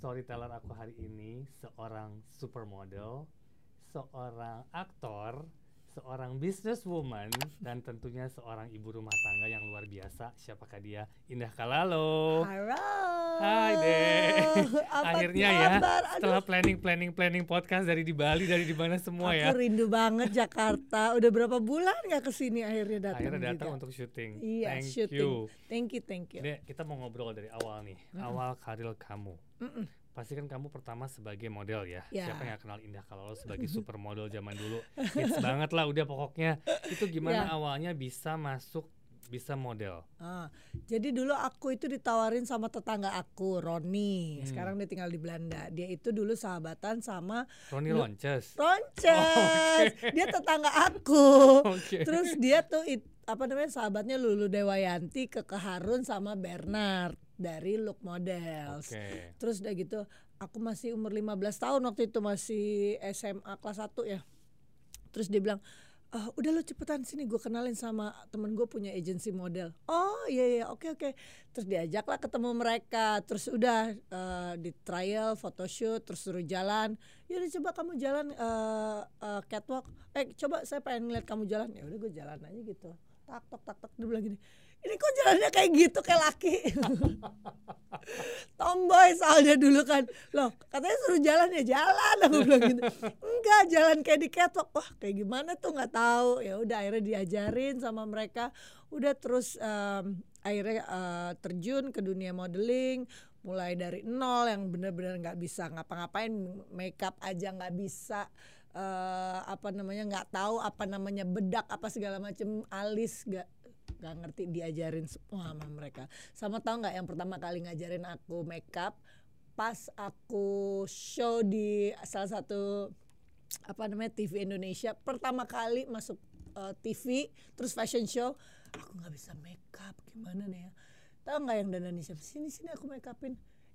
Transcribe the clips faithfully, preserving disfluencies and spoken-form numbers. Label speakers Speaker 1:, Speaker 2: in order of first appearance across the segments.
Speaker 1: storyteller aku hari ini seorang supermodel, seorang aktor, seorang businesswoman, dan tentunya seorang ibu rumah tangga yang luar biasa. Siapakah dia? Indah Kalalo.
Speaker 2: Halo.
Speaker 1: Hai deh. Akhirnya ya,
Speaker 2: kabar?
Speaker 1: setelah planning planning planning podcast dari di Bali, dari di mana semua
Speaker 2: Aku
Speaker 1: ya.
Speaker 2: Aku rindu banget Jakarta. Udah berapa bulan nggak kesini akhirnya datang.
Speaker 1: Akhirnya datang
Speaker 2: juga.
Speaker 1: untuk syuting.
Speaker 2: Iya,
Speaker 1: Thank
Speaker 2: syuting.
Speaker 1: you.
Speaker 2: Thank you, thank you.
Speaker 1: Dek, kita mau ngobrol dari awal nih. Mm-mm. Awal karir kamu. Mm-mm. Pasti kan kamu pertama sebagai model ya.
Speaker 2: ya.
Speaker 1: Siapa yang kenal Indah Kalalo sebagai supermodel zaman dulu? Hits banget lah udah pokoknya. Itu gimana ya. Awalnya bisa masuk, bisa model?
Speaker 2: Ah, jadi dulu aku itu ditawarin sama tetangga aku, Roni. Hmm. Sekarang dia tinggal di Belanda. Dia itu dulu sahabatan sama
Speaker 1: Roni Lonces.
Speaker 2: Lonces. Oh, okay. Dia tetangga aku.
Speaker 1: Okay.
Speaker 2: Terus dia tuh it, apa namanya sahabatnya Lulu Dewayanti, Keke Harun sama Bernard dari Look Models.
Speaker 1: Okay.
Speaker 2: Terus udah gitu aku masih umur lima belas tahun waktu itu, masih S M A kelas satu ya. Terus dia bilang, Uh, udah lo cepetan sini, gue kenalin sama temen gue punya agensi model. Oh iya iya oke oke. Terus diajaklah ketemu mereka. Terus udah uh, di trial, photoshoot, terus suruh jalan. Yaudah coba kamu jalan uh, uh, catwalk. Eh coba saya pengen ngeliat kamu jalan. Ya udah gue jalan aja gitu. Tak tok tak tok. Dia bilang gini, ini kok jalannya kayak gitu kayak laki. Tomboy soalnya dulu kan. Loh katanya suruh jalan ya jalan, aku bilang gitu. Enggak, jalan kayak di catwalk. Wah kayak gimana tuh nggak tahu. Ya udah akhirnya diajarin sama mereka. Udah terus um, akhirnya uh, terjun ke dunia modeling. Mulai dari nol yang benar-benar nggak bisa ngapa-ngapain, makeup aja nggak bisa. Uh, apa namanya nggak tahu apa namanya bedak apa segala macam, alis nggak nggak ngerti, diajarin semua sama mereka. Sama tahu nggak yang pertama kali ngajarin aku makeup pas aku show di salah satu apa namanya T V Indonesia, pertama kali masuk uh, T V terus fashion show, aku nggak bisa makeup, gimana nih ya, tahu nggak yang dandanin siapa, sini sini aku makeupin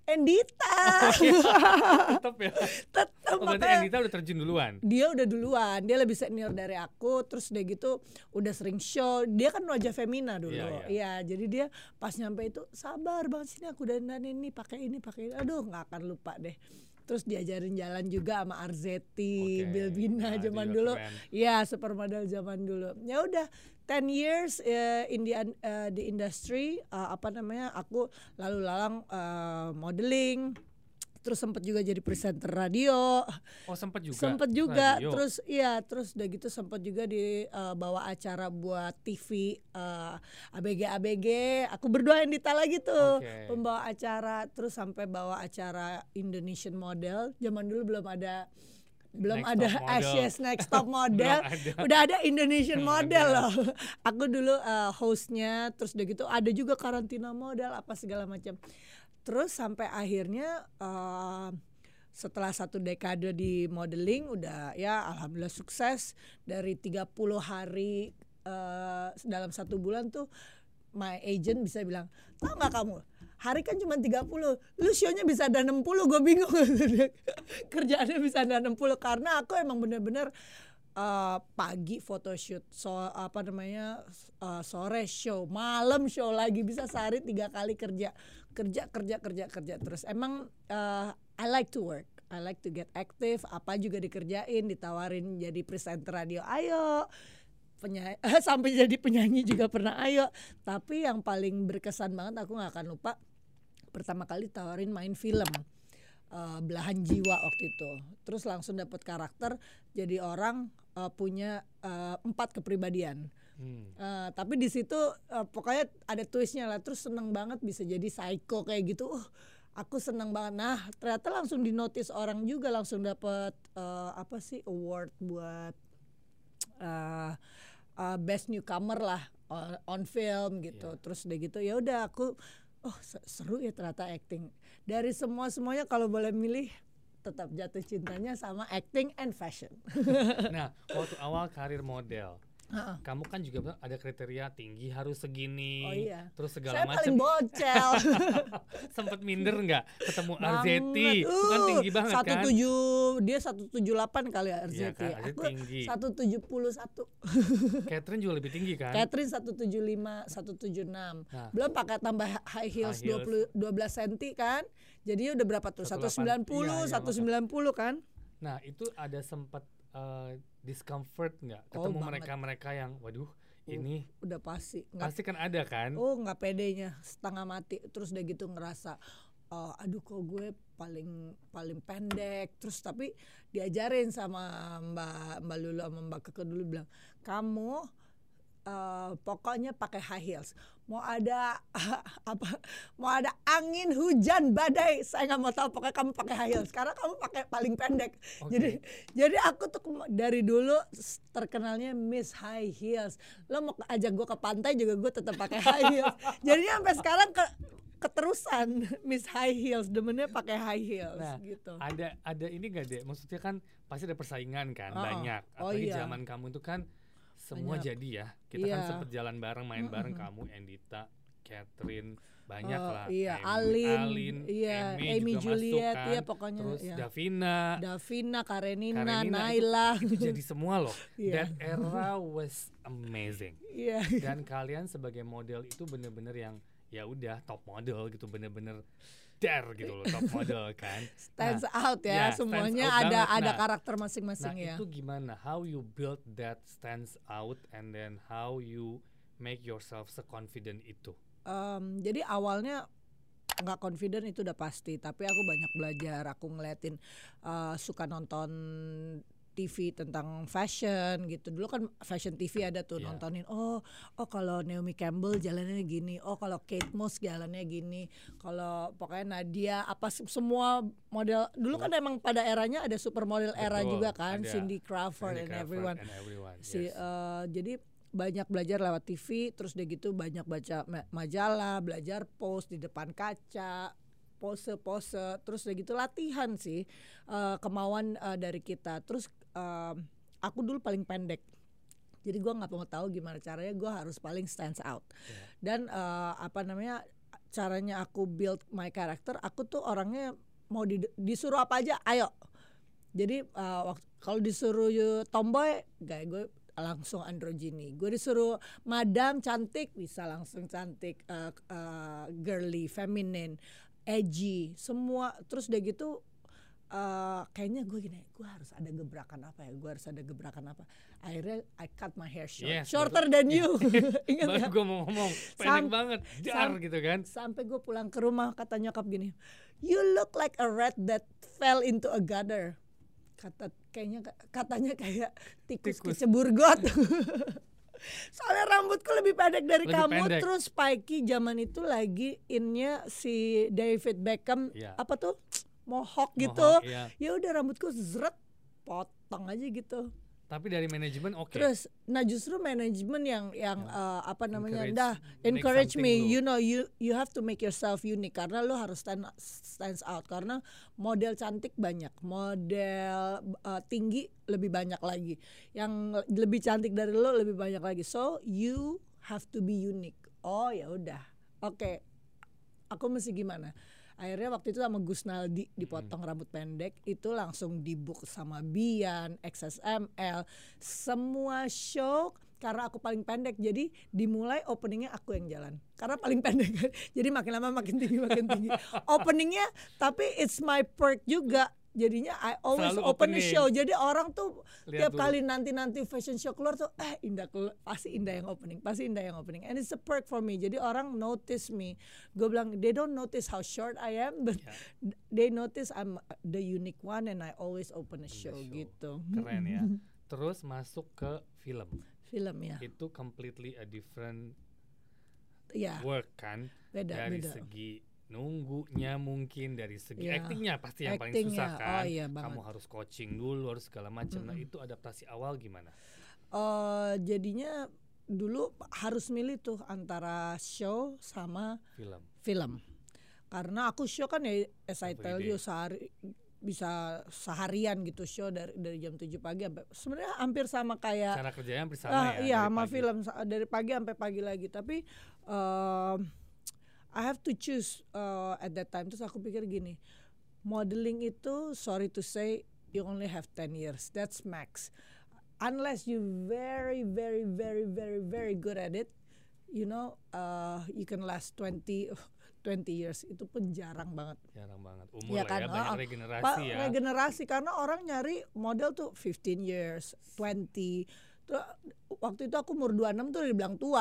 Speaker 2: Endita.
Speaker 1: Oh, iya. Tetap ya.
Speaker 2: Tetap.
Speaker 1: Oh, berarti Endita udah terjun duluan.
Speaker 2: Dia udah duluan, dia lebih senior dari aku. Terus udah gitu udah sering show. Dia kan wajah femina dulu. Iya, ya, jadi dia pas nyampe itu sabar banget, sini aku dandanin nih, pakai ini, pakai ini. Aduh, nggak akan lupa deh. Terus diajarin jalan juga sama Arzetti, okay. Bilbina nah, zaman dulu. Iya, supermodel zaman dulu. Ya udah, ten years uh, in the uh, the industry, uh, apa namanya? Aku lalu lalang uh, modeling. Terus sempat juga jadi presenter radio.
Speaker 1: Oh, sempat juga.
Speaker 2: Sempat juga.
Speaker 1: Radio.
Speaker 2: Terus iya, terus udah gitu sempat juga di uh, bawa acara buat T V uh, A B G A B G. Aku berdua Endita lagi tuh, okay. Pembawa acara, terus sampai bawa acara Indonesian Model. Zaman dulu belum ada belum
Speaker 1: next
Speaker 2: ada Asia's Next Top Model. ada. Udah ada Indonesian Model loh. Aku dulu uh, hostnya, terus udah gitu ada juga karantina model apa segala macam. Terus sampai akhirnya uh, setelah satu dekade di modeling udah ya alhamdulillah sukses. Dari tiga puluh hari uh, dalam satu bulan tuh my agent bisa bilang, tahu nggak kamu, hari kan cuma tiga puluh, lu show-nya bisa ada enam puluh, gue bingung. Kerjaannya bisa ada enam puluh karena aku emang bener-bener Uh, pagi photoshoot, so apa namanya uh, sore show, malam show lagi, bisa sehari tiga kali kerja, kerja kerja kerja kerja terus. Emang uh, I like to work, I like to get active, apa juga dikerjain, ditawarin jadi presenter radio, ayo. Penyanyi, sampai jadi penyanyi juga pernah, ayo. Tapi yang paling berkesan banget aku nggak akan lupa, pertama kali tawarin main film. Uh, Belahan Jiwa waktu itu, terus langsung dapat karakter jadi orang uh, punya uh, empat kepribadian. Hmm. Uh, tapi di situ uh, pokoknya ada twistnya lah. Terus seneng banget bisa jadi psycho kayak gitu. Uh, aku seneng banget. Nah ternyata langsung di notice orang juga, langsung dapat uh, apa sih award buat uh, uh, best newcomer lah on, on film gitu. Yeah. Terus udah gitu ya udah aku, oh seru ya ternyata acting. Dari semua-semuanya kalau boleh milih tetap jatuh cintanya sama acting and fashion.
Speaker 1: Nah, waktu awal karir model,
Speaker 2: Uh-uh.
Speaker 1: Kamu kan juga bilang ada kriteria tinggi harus segini,
Speaker 2: Oh iya.
Speaker 1: terus segala
Speaker 2: Saya
Speaker 1: macam.
Speaker 2: paling bocel.
Speaker 1: Sempet minder nggak ketemu
Speaker 2: Banget.
Speaker 1: Arzeti? Itu kan
Speaker 2: Uh,
Speaker 1: tinggi banget kan?
Speaker 2: seratus tujuh dia seratus tujuh puluh delapan kali ya
Speaker 1: Iya
Speaker 2: Arzeti.
Speaker 1: kan, Arzeti
Speaker 2: Aku
Speaker 1: tinggi.
Speaker 2: seratus tujuh puluh satu.
Speaker 1: Catherine juga lebih tinggi kan?
Speaker 2: Catherine seratus tujuh puluh lima, seratus tujuh puluh enam.
Speaker 1: Nah.
Speaker 2: Belum pakai tambah high heels,
Speaker 1: High heels.
Speaker 2: dua puluh, dua belas senti kan. Jadinya udah berapa tuh?
Speaker 1: seratus
Speaker 2: seratus sembilan puluh,
Speaker 1: delapan. Iya, iya,
Speaker 2: seratus sembilan puluh kan?
Speaker 1: Nah itu ada sempat uh, discomfort nggak
Speaker 2: Oh,
Speaker 1: ketemu
Speaker 2: banget.
Speaker 1: mereka-mereka yang waduh ini
Speaker 2: Udah pasti. Nggak,
Speaker 1: pasti kan ada kan?
Speaker 2: oh nggak pedenya, setengah mati. Terus udah gitu ngerasa, oh, aduh kok gue paling paling pendek. Terus tapi diajarin sama Mbak Mbak Lulu sama Mbak Keke dulu bilang, kamu uh, pokoknya pakai high heels. Mau ada apa? Mau ada angin, hujan, badai, saya nggak mau tahu. Pokoknya kamu pakai high heels. Karena kamu pakai paling pendek.
Speaker 1: Oke.
Speaker 2: Jadi jadi aku tuh kema- dari dulu s- terkenalnya Miss High Heels. Lo mau ajak gue ke pantai juga gue tetap pakai high heels. Jadinya sampai sekarang ke keterusan Miss High Heels, demennya pakai high heels
Speaker 1: Nah,
Speaker 2: gitu.
Speaker 1: ada ada ini nggak deh? Maksudnya kan pasti ada persaingan kan
Speaker 2: Oh,
Speaker 1: banyak.
Speaker 2: oh
Speaker 1: Apalagi
Speaker 2: iya.
Speaker 1: zaman kamu itu kan semua
Speaker 2: Banyak.
Speaker 1: jadi ya. Kita kan
Speaker 2: Iya.
Speaker 1: sempet jalan bareng, main bareng kamu, Endita, Catherine, banyak
Speaker 2: Oh,
Speaker 1: lah.
Speaker 2: iya,
Speaker 1: Em-
Speaker 2: Alin,
Speaker 1: Alin,
Speaker 2: iya,
Speaker 1: Amy,
Speaker 2: Amy
Speaker 1: juga
Speaker 2: Juliet,
Speaker 1: masuk kan.
Speaker 2: iya, pokoknya,
Speaker 1: Terus
Speaker 2: iya.
Speaker 1: Davina,
Speaker 2: Davina, Karenina,
Speaker 1: Karenina,
Speaker 2: Naila.
Speaker 1: itu, itu jadi semua loh.
Speaker 2: Iya.
Speaker 1: That era was amazing.
Speaker 2: Iya.
Speaker 1: Dan kalian sebagai model itu bener-bener yang ya udah top model gitu, bener-bener dar gitu loh, top model kan.
Speaker 2: Stands
Speaker 1: Nah,
Speaker 2: out ya,
Speaker 1: ya, stands
Speaker 2: semuanya
Speaker 1: out
Speaker 2: ada
Speaker 1: banget.
Speaker 2: ada
Speaker 1: Nah,
Speaker 2: karakter
Speaker 1: Nah
Speaker 2: masing-masing ya.
Speaker 1: itu gimana? How you build that stands out and then how you make yourself se-confident itu?
Speaker 2: Em, jadi awalnya nggak confident itu udah pasti, tapi aku banyak belajar. Aku ngeliatin, uh, suka nonton T V tentang fashion gitu. Dulu kan fashion T V ada tuh,
Speaker 1: Iya.
Speaker 2: nontonin. Oh, oh kalau Naomi Campbell jalannya gini. Oh kalau Kate Moss jalannya gini. Kalau pokoknya Nadia apa se- semua model. Dulu kan emang pada eranya ada supermodel era
Speaker 1: Betul,
Speaker 2: juga kan,
Speaker 1: ada.
Speaker 2: Cindy Crawford
Speaker 1: Cindy
Speaker 2: and
Speaker 1: Crawford
Speaker 2: everyone.
Speaker 1: and everyone,
Speaker 2: Si,
Speaker 1: yes.
Speaker 2: eh, jadi banyak belajar lewat T V, terus udah gitu banyak baca ma- majalah, belajar pose di depan kaca, pose-pose, terus udah gitu latihan sih, eh, kemauan eh, dari kita. Terus eh, aku dulu paling pendek, jadi gue nggak mau tahu gimana caranya gue harus paling stands out.
Speaker 1: Yeah.
Speaker 2: Dan eh, apa namanya caranya aku build my character, aku tuh orangnya mau di- disuruh apa aja, ayo. Jadi eh, waktu kalau disuruh you tomboy, gak gue langsung androgyny. Gue disuruh madam cantik, bisa langsung cantik, eh, eh, girly, feminine, edgy, semua. Terus udah gitu eh, kayaknya gue gini, gue harus ada gebrakan apa ya? Gue harus ada gebrakan apa? Akhirnya I cut my hair short,
Speaker 1: Yes,
Speaker 2: shorter
Speaker 1: betul.
Speaker 2: than you. Ingat
Speaker 1: Baru
Speaker 2: nggak?
Speaker 1: gue mau ngomong pendek
Speaker 2: Sam-
Speaker 1: banget, dar
Speaker 2: sam-
Speaker 1: gitu kan.
Speaker 2: Sampai gue pulang ke rumah, kata nyokap gini, you look like a rat that fell into a gutter. Kata kayaknya katanya kayak tikus,
Speaker 1: Tikus.
Speaker 2: kecebur got. Soalnya rambutku lebih pendek dari
Speaker 1: Lebih
Speaker 2: kamu.
Speaker 1: pendek.
Speaker 2: Terus spiky zaman itu lagi innya si David Beckham,
Speaker 1: Iya.
Speaker 2: apa tuh, mohawk gitu.
Speaker 1: Mohawk, iya.
Speaker 2: Ya udah rambutku zret, potong aja gitu.
Speaker 1: Tapi dari manajemen oke.
Speaker 2: Terus, nah justru manajemen yang yang eh, apa namanya,
Speaker 1: Encourage,
Speaker 2: dah
Speaker 1: make
Speaker 2: encourage
Speaker 1: something
Speaker 2: me,
Speaker 1: lu.
Speaker 2: you know, you you have to make yourself unique karena lo harus stand stands out karena model cantik banyak, model eh, tinggi lebih banyak lagi, yang lebih cantik dari lo lebih banyak lagi, so you have to be unique. Oh ya udah, oke, aku mesti gimana? Akhirnya waktu itu sama Gus Naldi dipotong rambut pendek, itu langsung dibook sama Bian, X S M L, semua show karena aku paling pendek. Jadi dimulai openingnya aku yang jalan karena paling pendek kan. Jadi makin lama makin tinggi makin tinggi. Openingnya tapi it's my perk juga. Jadinya I always
Speaker 1: Selalu
Speaker 2: open the
Speaker 1: opening.
Speaker 2: show. Jadi orang tuh
Speaker 1: Lihat
Speaker 2: tiap
Speaker 1: dulu.
Speaker 2: kali nanti-nanti fashion show keluar tuh eh Indah keluar, pasti Indah yang opening, pasti Indah yang opening. And it's a perk for me. Jadi orang notice me. Gue bilang they don't notice how short I am, but
Speaker 1: Ya.
Speaker 2: they notice I'm the unique one and I always open a
Speaker 1: the
Speaker 2: show,
Speaker 1: show.
Speaker 2: gitu.
Speaker 1: Keren ya. Terus masuk ke film.
Speaker 2: Film ya.
Speaker 1: Itu completely a different
Speaker 2: Ya,
Speaker 1: work kan.
Speaker 2: beda
Speaker 1: Dari
Speaker 2: beda.
Speaker 1: segi nunggunya mungkin, dari segi
Speaker 2: Iya.
Speaker 1: actingnya pasti yang paling
Speaker 2: Actingnya,
Speaker 1: susah kan.
Speaker 2: oh iya banget.
Speaker 1: Kamu harus coaching dulu, harus segala macam. Nah itu adaptasi awal gimana?
Speaker 2: Eh, jadinya dulu harus milih tuh antara show sama
Speaker 1: Film.
Speaker 2: film. Karena aku show kan ya as I tell
Speaker 1: Everyday.
Speaker 2: you sehari bisa seharian gitu show dari dari jam tujuh pagi sampai sebenarnya hampir sama kayak
Speaker 1: Cara kerjanya hampir sama
Speaker 2: ah,
Speaker 1: ya.
Speaker 2: iya
Speaker 1: dari
Speaker 2: sama
Speaker 1: pagi.
Speaker 2: film sa- dari pagi sampai pagi lagi tapi um, I have to choose uh, at that time. Terus aku pikir gini, modeling itu sorry to say you only have ten years, that's max, unless you very very very very very good at it, you know, uh, you can last twenty twenty years. Itu pun jarang banget.
Speaker 1: Jarang banget. Umur
Speaker 2: Ya
Speaker 1: lah
Speaker 2: kan,
Speaker 1: ya, banyak
Speaker 2: ah,
Speaker 1: regenerasi
Speaker 2: Pa-
Speaker 1: ya.
Speaker 2: regenerasi karena orang nyari model tuh fifteen years, twenty. Tuh, waktu itu aku umur dua puluh enam tuh udah dibilang tua.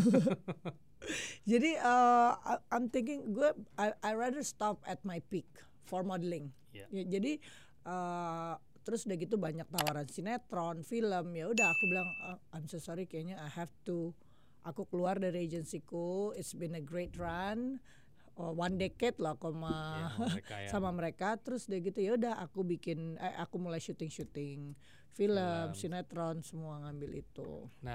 Speaker 2: Jadi uh, I- I'm thinking gue I, I rather stop at my peak for modeling.
Speaker 1: Iya.
Speaker 2: Ya, jadi uh, terus udah gitu banyak tawaran sinetron, film. Ya udah aku bilang uh, I'm so sorry kayaknya I have to, aku keluar dari agensiku. It's been a great run. Oh, one decade lah aku sama
Speaker 1: Ya, sama mereka ya.
Speaker 2: sama mereka. Terus udah gitu ya udah aku bikin eh, aku mulai syuting-syuting film,
Speaker 1: Film.
Speaker 2: sinetron, semua ngambil itu.
Speaker 1: Nah,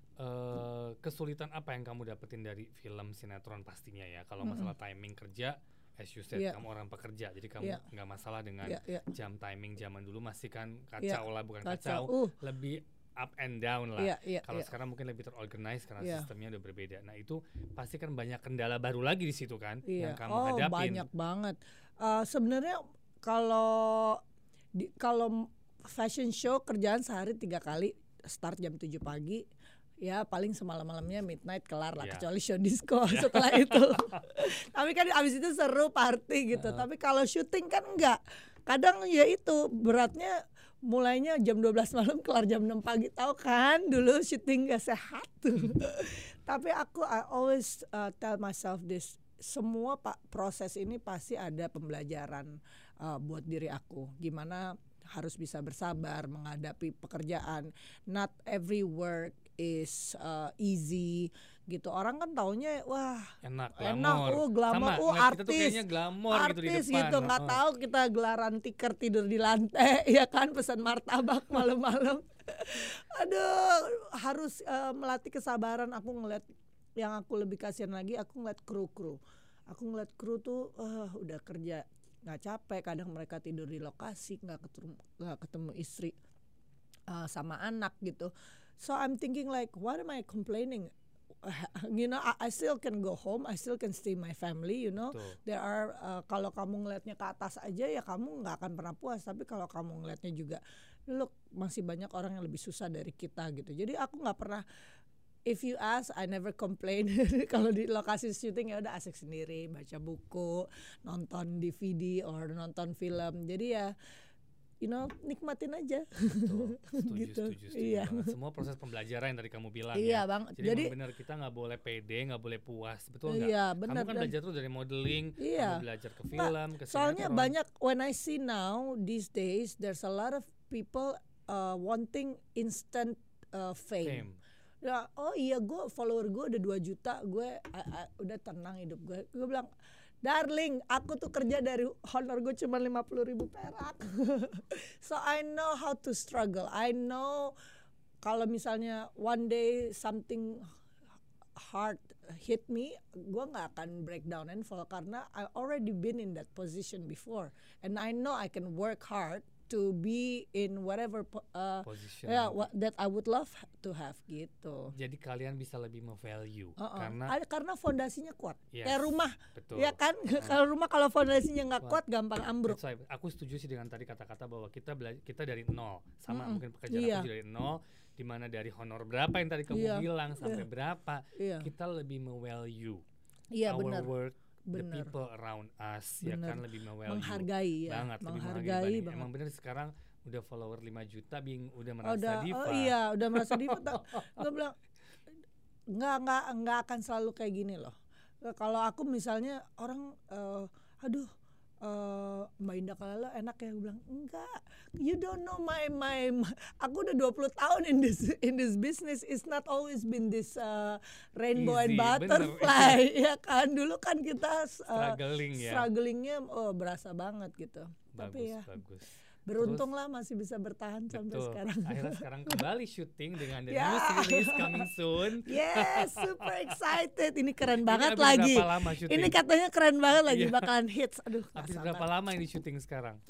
Speaker 1: eh, kesulitan apa yang kamu dapetin dari film sinetron pastinya ya? Kalau masalah timing kerja, as you said,
Speaker 2: Iya.
Speaker 1: kamu orang pekerja, jadi kamu
Speaker 2: Iya.
Speaker 1: nggak masalah dengan
Speaker 2: Iya, iya.
Speaker 1: jam timing zaman dulu masih kan kacau
Speaker 2: Iya,
Speaker 1: lah, bukan
Speaker 2: kacau.
Speaker 1: kacau,
Speaker 2: Uh.
Speaker 1: lebih up and down lah.
Speaker 2: Iya, iya,
Speaker 1: Kalau
Speaker 2: iya.
Speaker 1: sekarang mungkin lebih terorganize karena
Speaker 2: Iya.
Speaker 1: sistemnya udah berbeda. Nah itu pasti kan banyak kendala baru lagi di situ kan yang
Speaker 2: Iya.
Speaker 1: kamu
Speaker 2: Oh,
Speaker 1: hadapin.
Speaker 2: banyak banget. Uh, sebenarnya kalau di kalau fashion show kerjaan sehari tiga kali, start jam tujuh pagi. Ya paling semalam-malamnya midnight kelar lah,
Speaker 1: Iya.
Speaker 2: kecuali show disco setelah itu. Tapi kan abis itu seru party gitu. Tapi kalau syuting kan enggak. Kadang ya itu beratnya mulainya jam dua belas malam kelar jam enam pagi, tahu kan dulu syuting gak sehat tuh. Tapi aku I always uh, tell myself this, semua pak proses ini pasti ada pembelajaran uh, buat diri aku, gimana harus bisa bersabar menghadapi pekerjaan. Not every work is uh, easy gitu. Orang kan taunya wah
Speaker 1: Enak,
Speaker 2: enak,
Speaker 1: glamor.
Speaker 2: oh glamour,
Speaker 1: Sama,
Speaker 2: oh
Speaker 1: ngeliat kita tuh
Speaker 2: artis,
Speaker 1: kayaknya glamor gitu di
Speaker 2: artis
Speaker 1: depan.
Speaker 2: gitu, nggak
Speaker 1: Oh.
Speaker 2: tahu kita gelaran tiker tidur di lantai, ya kan, pesan martabak malam-malam. Aduh, harus uh, melatih kesabaran. Aku ngeliat yang aku lebih kasihan lagi, aku ngeliat kru-kru. Aku ngeliat kru tuh uh, udah kerja nggak capek, kadang mereka tidur di lokasi, nggak ketemu nggak ketemu istri uh, sama anak gitu. So I'm thinking like, what am I complaining? You know, I, I still can go home, I still can stay my family. You know,
Speaker 1: Betul.
Speaker 2: there are uh, kalau kamu ngelihatnya ke atas aja ya kamu nggak akan pernah puas. Tapi kalau kamu ngelihatnya juga, look masih banyak orang yang lebih susah dari kita gitu. Jadi aku nggak pernah. If you ask, I never complain. Kalau di lokasi syuting ya udah asik sendiri, baca buku, nonton D V D or nonton film. Jadi ya, you know, nikmatin aja.
Speaker 1: Betul, setuju,
Speaker 2: Gitu,
Speaker 1: setuju, setuju
Speaker 2: iya.
Speaker 1: banget. Semua proses pembelajaran yang tadi kamu bilang
Speaker 2: Iya
Speaker 1: ya.
Speaker 2: bang.
Speaker 1: Jadi,
Speaker 2: Jadi,
Speaker 1: emang benar kita nggak boleh pede, nggak boleh puas, betul nggak?
Speaker 2: iya
Speaker 1: Kamu
Speaker 2: benar.
Speaker 1: kan
Speaker 2: Dan-
Speaker 1: belajar tuh dari modeling,
Speaker 2: Iya.
Speaker 1: kamu belajar ke
Speaker 2: Nggak,
Speaker 1: film, ke
Speaker 2: soalnya
Speaker 1: sinetron.
Speaker 2: banyak, when I see now these days, there's a lot of people uh, wanting instant uh, fame.
Speaker 1: Fame.
Speaker 2: Ya, oh iya gue follower gue udah dua juta, gue I- I- udah tenang hidup gue. Gue bilang, darling, aku tuh kerja dari honor gue cuma lima puluh ribu perak. So I know how to struggle. I know kalau misalnya one day something hard hit me, gue nggak akan break down and fall karena I already been in that position before, and I know I can work hard to be in whatever po- uh,
Speaker 1: Position.
Speaker 2: yeah, what, that I would love to have gitu.
Speaker 1: Jadi kalian bisa lebih me-value
Speaker 2: Uh-uh.
Speaker 1: karena
Speaker 2: Ada- karena fondasinya kuat.
Speaker 1: Yes,
Speaker 2: Kayak rumah,
Speaker 1: betul.
Speaker 2: ya kan? Kalau rumah kalau fondasinya nggak kuat, gampang ambruk.
Speaker 1: That's why aku setuju sih dengan tadi kata-kata bahwa kita bela- kita dari nol, sama
Speaker 2: Mm-mm.
Speaker 1: mungkin pekerjaan
Speaker 2: Iya.
Speaker 1: aku juga dari nol, di mana dari honor berapa yang tadi kamu
Speaker 2: Iya.
Speaker 1: bilang sampai
Speaker 2: Iya.
Speaker 1: berapa,
Speaker 2: Iya,
Speaker 1: kita lebih me-value
Speaker 2: iya
Speaker 1: our
Speaker 2: benar.
Speaker 1: work, the
Speaker 2: Benar.
Speaker 1: people around us, ya
Speaker 2: Benar.
Speaker 1: kan, lebih me-value
Speaker 2: Menghargai ya,
Speaker 1: banget, lebih
Speaker 2: menghargai
Speaker 1: menghargai
Speaker 2: banget.
Speaker 1: Emang bener sekarang udah follower lima juta, bing udah
Speaker 2: Oh,
Speaker 1: merasa
Speaker 2: udah,
Speaker 1: diva.
Speaker 2: oh iya, udah merasa diva. Gue bilang nggak nggak nggak akan selalu kayak gini loh. Kalau aku misalnya orang, eh, aduh, eh, Mbak Indah Kalalo enak ya, gue bilang enggak. You don't know my my. my- Aku udah dua puluh tahun in this in this business. It's not always been this uh, rainbow
Speaker 1: Easy,
Speaker 2: and
Speaker 1: bener.
Speaker 2: butterfly, ya kan. Dulu kan kita uh,
Speaker 1: Struggling ya.
Speaker 2: strugglingnya oh berasa banget gitu.
Speaker 1: Bagus,
Speaker 2: Tapi ya
Speaker 1: bagus.
Speaker 2: beruntung lah masih bisa bertahan sampai
Speaker 1: Betul.
Speaker 2: sekarang.
Speaker 1: Akhirnya sekarang kembali syuting dengan the
Speaker 2: Ya.
Speaker 1: new series coming soon.
Speaker 2: Yes, super excited. Ini keren banget
Speaker 1: habis
Speaker 2: lagi.
Speaker 1: berapa lama syuting?
Speaker 2: Ini katanya keren banget lagi,
Speaker 1: Iya.
Speaker 2: bakalan hits. Aduh, nggak
Speaker 1: Habis
Speaker 2: sabar.
Speaker 1: berapa lama ini syuting sekarang?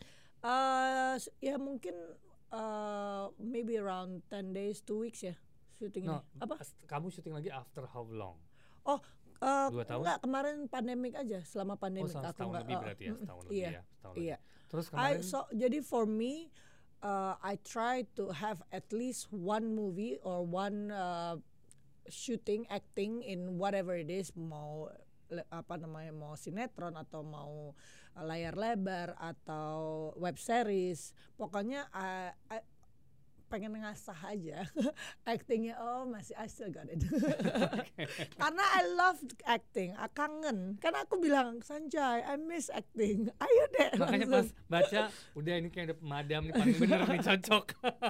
Speaker 2: Uh, s- ya mungkin uh, maybe around ten days, two weeks ya syuting ini.
Speaker 1: No,
Speaker 2: Apa?
Speaker 1: as- kamu syuting lagi after how long?
Speaker 2: Oh, uh,
Speaker 1: Dua tahun?
Speaker 2: enggak, kemarin pandemik aja, selama
Speaker 1: Oh,
Speaker 2: pandemik
Speaker 1: selama
Speaker 2: aku
Speaker 1: setahun
Speaker 2: nggak.
Speaker 1: lebih
Speaker 2: uh,
Speaker 1: berarti ya,
Speaker 2: mm,
Speaker 1: setahun lebih
Speaker 2: iya,
Speaker 1: ya, setahun
Speaker 2: iya.
Speaker 1: lebih. Terus
Speaker 2: I,
Speaker 1: kemarin
Speaker 2: so jadi for me, uh, I try to have at least one movie or one uh, shooting acting in whatever it is, mau le- apa namanya, mau sinetron atau mau uh, layar lebar atau web series, pokoknya uh, I- pengen ngasah aja actingnya. Oh masih, I still got it. Karena I love acting, I kangen. Kan aku bilang, Sanjay, I miss acting. Ayo deh.
Speaker 1: makanya pas
Speaker 2: langsung.
Speaker 1: baca udah ini kayak udah pemadam nih, paling bener nih, cocok.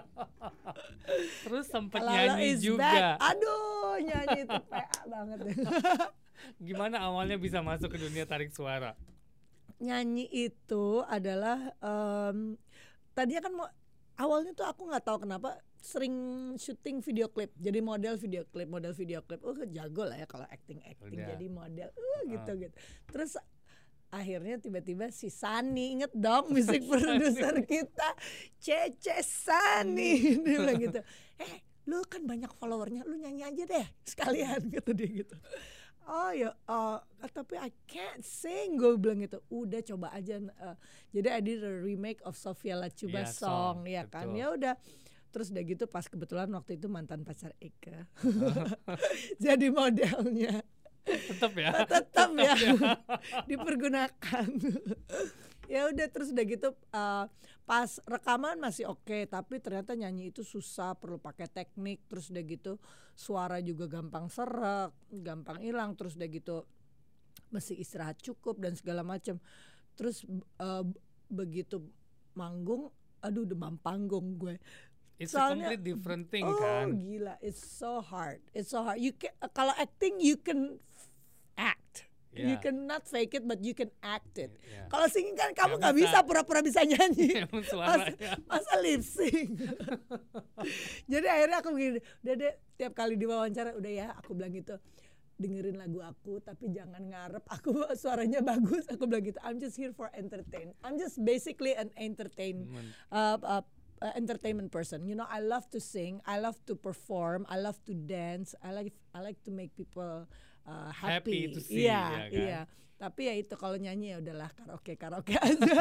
Speaker 1: Terus sempet
Speaker 2: Lalo
Speaker 1: nyanyi
Speaker 2: is
Speaker 1: juga.
Speaker 2: back. Aduh, nyanyi itu P A banget.
Speaker 1: Gimana awalnya bisa masuk ke dunia tarik suara?
Speaker 2: Nyanyi itu adalah em, tadinya kan mau, awalnya tuh aku nggak tahu kenapa sering syuting video klip, jadi model video klip, model video klip. Oh jago lah ya kalau acting acting
Speaker 1: Udah.
Speaker 2: jadi model, uh, gitu gitu. Terus akhirnya tiba-tiba si Sani, inget dong musik produser kita, Cece Sani, dia bilang gitu, eh lu kan banyak followernya, lu nyanyi aja deh sekalian, gitu dia gitu. Oh ya, uh, tapi I can't sing, gue bilang gitu. Udah coba aja. Uh, jadi I did a remake of Sofia Lachuba
Speaker 1: Iya,
Speaker 2: song,
Speaker 1: song,
Speaker 2: ya kan.
Speaker 1: betul.
Speaker 2: Ya udah. Terus udah gitu pas kebetulan waktu itu mantan pacar Eka jadi modelnya.
Speaker 1: Tetap ya.
Speaker 2: Tetap ya dipergunakan. Ya udah, terus udah gitu uh, pas rekaman masih oke, tapi ternyata nyanyi itu susah, perlu pakai teknik. Terus udah gitu suara juga gampang serak, gampang hilang. Terus udah gitu mesti istirahat cukup dan segala macam. Terus uh, begitu manggung, aduh demam panggung gue.
Speaker 1: It's a
Speaker 2: Soalnya-
Speaker 1: complete different thing
Speaker 2: Oh
Speaker 1: kan.
Speaker 2: gila, it's so hard, it's so hard. You can, kalau acting you can act, you
Speaker 1: Yeah.
Speaker 2: cannot fake it, but you can act it.
Speaker 1: Yeah.
Speaker 2: Kalau singing kan kamu
Speaker 1: Nggak
Speaker 2: nggak bisa.
Speaker 1: bisa.
Speaker 2: pura-pura bisa nyanyi.
Speaker 1: Emang
Speaker 2: Masa,
Speaker 1: suaranya.
Speaker 2: masa lip sync. Jadi akhirnya aku begini, udah deh, tiap kali diwawancara udah ya, aku bilang gitu, dengerin lagu aku tapi jangan ngarep aku suaranya bagus. Aku bilang gitu, I'm just here for entertain. I'm just basically an entertain
Speaker 1: Men-
Speaker 2: uh, uh, uh, entertainment person. You know, I love to sing, I love to perform, I love to dance, I like I like to make people uh, happy.
Speaker 1: Happy to see,
Speaker 2: Iya,
Speaker 1: ya kan?
Speaker 2: iya. Tapi ya itu kalau nyanyi ya udahlah karaoke karaoke aja.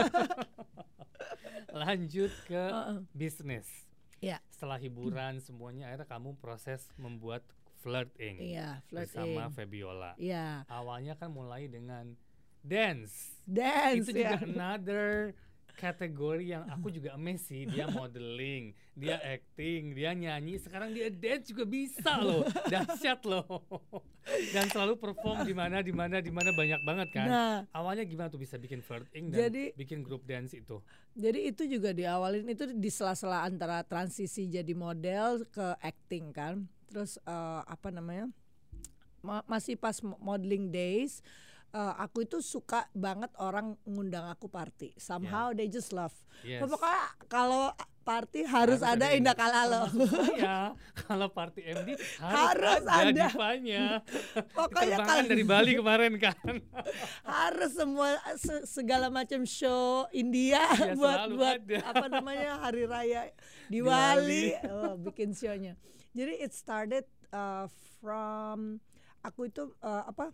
Speaker 1: Lanjut ke
Speaker 2: Uh-uh.
Speaker 1: bisnis.
Speaker 2: Iya.
Speaker 1: Setelah hiburan semuanya, akhirnya kamu proses membuat Flirting
Speaker 2: Iya,
Speaker 1: bersama
Speaker 2: flirting.
Speaker 1: Febiola.
Speaker 2: Iya,
Speaker 1: Awalnya kan mulai dengan dance.
Speaker 2: dance
Speaker 1: Itu
Speaker 2: ya.
Speaker 1: juga another kategori yang aku juga amazed sih. Dia modeling, dia acting, dia nyanyi, sekarang dia dance juga bisa loh. Dahsyat loh. Dan selalu perform di mana di mana di mana banyak banget kan.
Speaker 2: Nah,
Speaker 1: Awalnya gimana tuh bisa bikin flirting dan
Speaker 2: Jadi-
Speaker 1: bikin grup dance itu?
Speaker 2: jadi itu juga diawalin itu di sela-sela antara transisi jadi model ke acting kan. Terus eh, apa namanya? Ma- masih pas mo- modeling days, eh, aku itu suka banget orang ngundang aku party. Somehow they just love.
Speaker 1: Yes.
Speaker 2: Pokoknya kalau party harus, ada Indah Kalalo.
Speaker 1: Termasuk saya, kalau party M D
Speaker 2: Harus
Speaker 1: harus, ada,
Speaker 2: ada.
Speaker 1: divanya.
Speaker 2: Pokoknya
Speaker 1: Diterbangkan
Speaker 2: kalau-
Speaker 1: dari Bali kemarin kan.
Speaker 2: Harus semua se- segala macam show India
Speaker 1: Ya,
Speaker 2: buat
Speaker 1: selalu
Speaker 2: buat
Speaker 1: ada.
Speaker 2: apa namanya hari raya
Speaker 1: Di
Speaker 2: Diwali,
Speaker 1: Bali.
Speaker 2: oh, bikin show-nya. Jadi it started uh, from aku itu uh, apa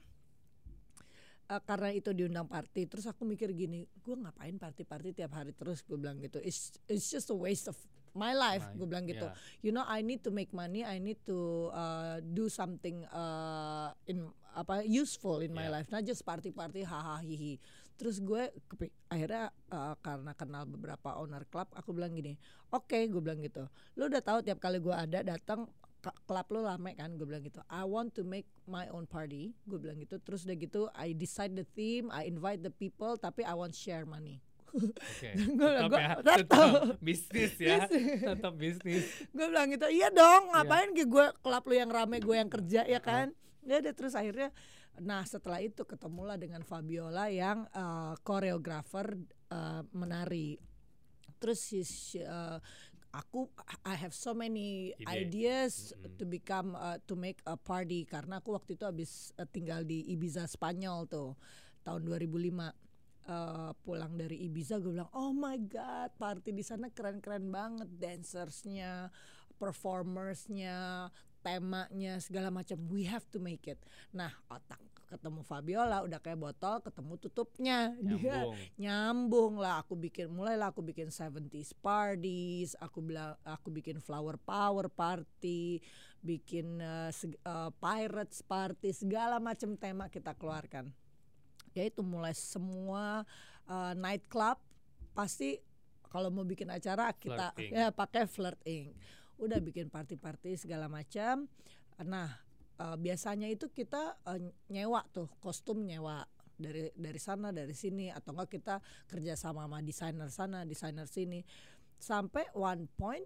Speaker 2: uh, karena itu diundang party, terus aku mikir gini, gue ngapain party-party tiap hari terus, gue bilang gitu, it's it's just a waste of my life,
Speaker 1: My-
Speaker 2: gue bilang gitu.
Speaker 1: yeah.
Speaker 2: You know, I need to make money, I need to uh, do something uh, in apa useful in my
Speaker 1: Yeah.
Speaker 2: life, not just party-party hahaha hihi. Terus gue kepi- akhirnya uh, karena kenal beberapa owner club, aku bilang gini, oke, gue bilang gitu, lu udah tahu tiap kali gue ada datang ke- klub lu rame kan, gue bilang gitu, I want to make my own party, gue bilang gitu. Terus udah gitu, I decide the theme, I invite the people, tapi I want share money.
Speaker 1: Oke.
Speaker 2: Gua-
Speaker 1: Tetap
Speaker 2: gua-
Speaker 1: ya,
Speaker 2: tetap.
Speaker 1: tetap bisnis ya.
Speaker 2: Bisnis.
Speaker 1: Tetap bisnis.
Speaker 2: Gue bilang gitu, iya dong, ngapain yeah. gue klub lu yang rame, gue yang kerja ya kan. Ya udah, terus akhirnya, nah setelah itu ketemulah dengan Fabiola yang uh, koreografer uh, menari. Terus si, si, uh, aku I have so many
Speaker 1: Ide.
Speaker 2: ideas
Speaker 1: Mm-mm.
Speaker 2: to become uh, to make a party, karena aku waktu itu habis uh, tinggal di Ibiza Spanyol tuh tahun dua ribu lima. uh, pulang dari Ibiza gue bilang oh my god party di sana keren-keren banget, dancersnya, performersnya, temanya segala macam, we have to make it. Nah otak ketemu Fabiola udah kayak botol ketemu tutupnya, dia
Speaker 1: Nyambung.
Speaker 2: nyambung lah. Aku bikin mulailah aku bikin seventies parties, aku bilang aku bikin flower power party, bikin uh, seg- uh, pirates party, segala macam tema kita keluarkan. Ya itu mulai semua uh, night club pasti kalau mau bikin acara kita
Speaker 1: Flirting.
Speaker 2: ya pakai flirting. Udah bikin party-party segala macam. Nah Uh, biasanya itu kita uh, nyewa tuh kostum, nyewa dari dari sana dari sini, atau enggak kita kerja sama sama desainer sana desainer sini, sampai one point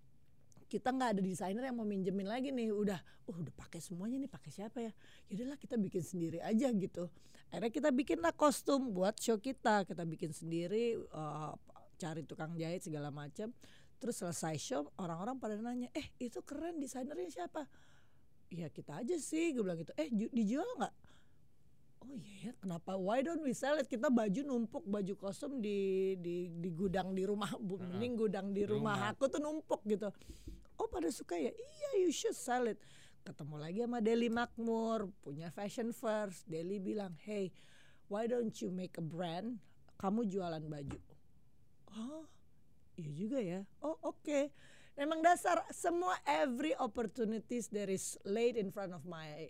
Speaker 2: kita nggak ada desainer yang mau minjemin lagi nih, udah oh udah pakai semuanya nih, pakai siapa ya, yaudahlah kita bikin sendiri aja gitu. Akhirnya kita bikinlah kostum buat show kita kita bikin sendiri, uh, cari tukang jahit segala macam. Terus selesai show orang-orang pada nanya, eh itu keren, desainernya siapa? Ya kita aja sih, gue bilang gitu. Eh ju- dijual nggak? Oh iya ya, kenapa? Why don't we sell it? Kita baju numpuk, baju kostum di di di gudang di rumah, bu,
Speaker 1: Uh-uh.
Speaker 2: mending gudang di
Speaker 1: Di
Speaker 2: rumah
Speaker 1: rumah.
Speaker 2: aku tuh numpuk gitu. Oh pada suka ya? Iya, you should sell it. Ketemu lagi sama Deli Makmur, punya fashion first. Deli bilang, hey, why don't you make a brand? Kamu jualan baju. Oh, iya juga ya. Oh oke. Okay. Memang dasar semua every opportunities that is laid in front of my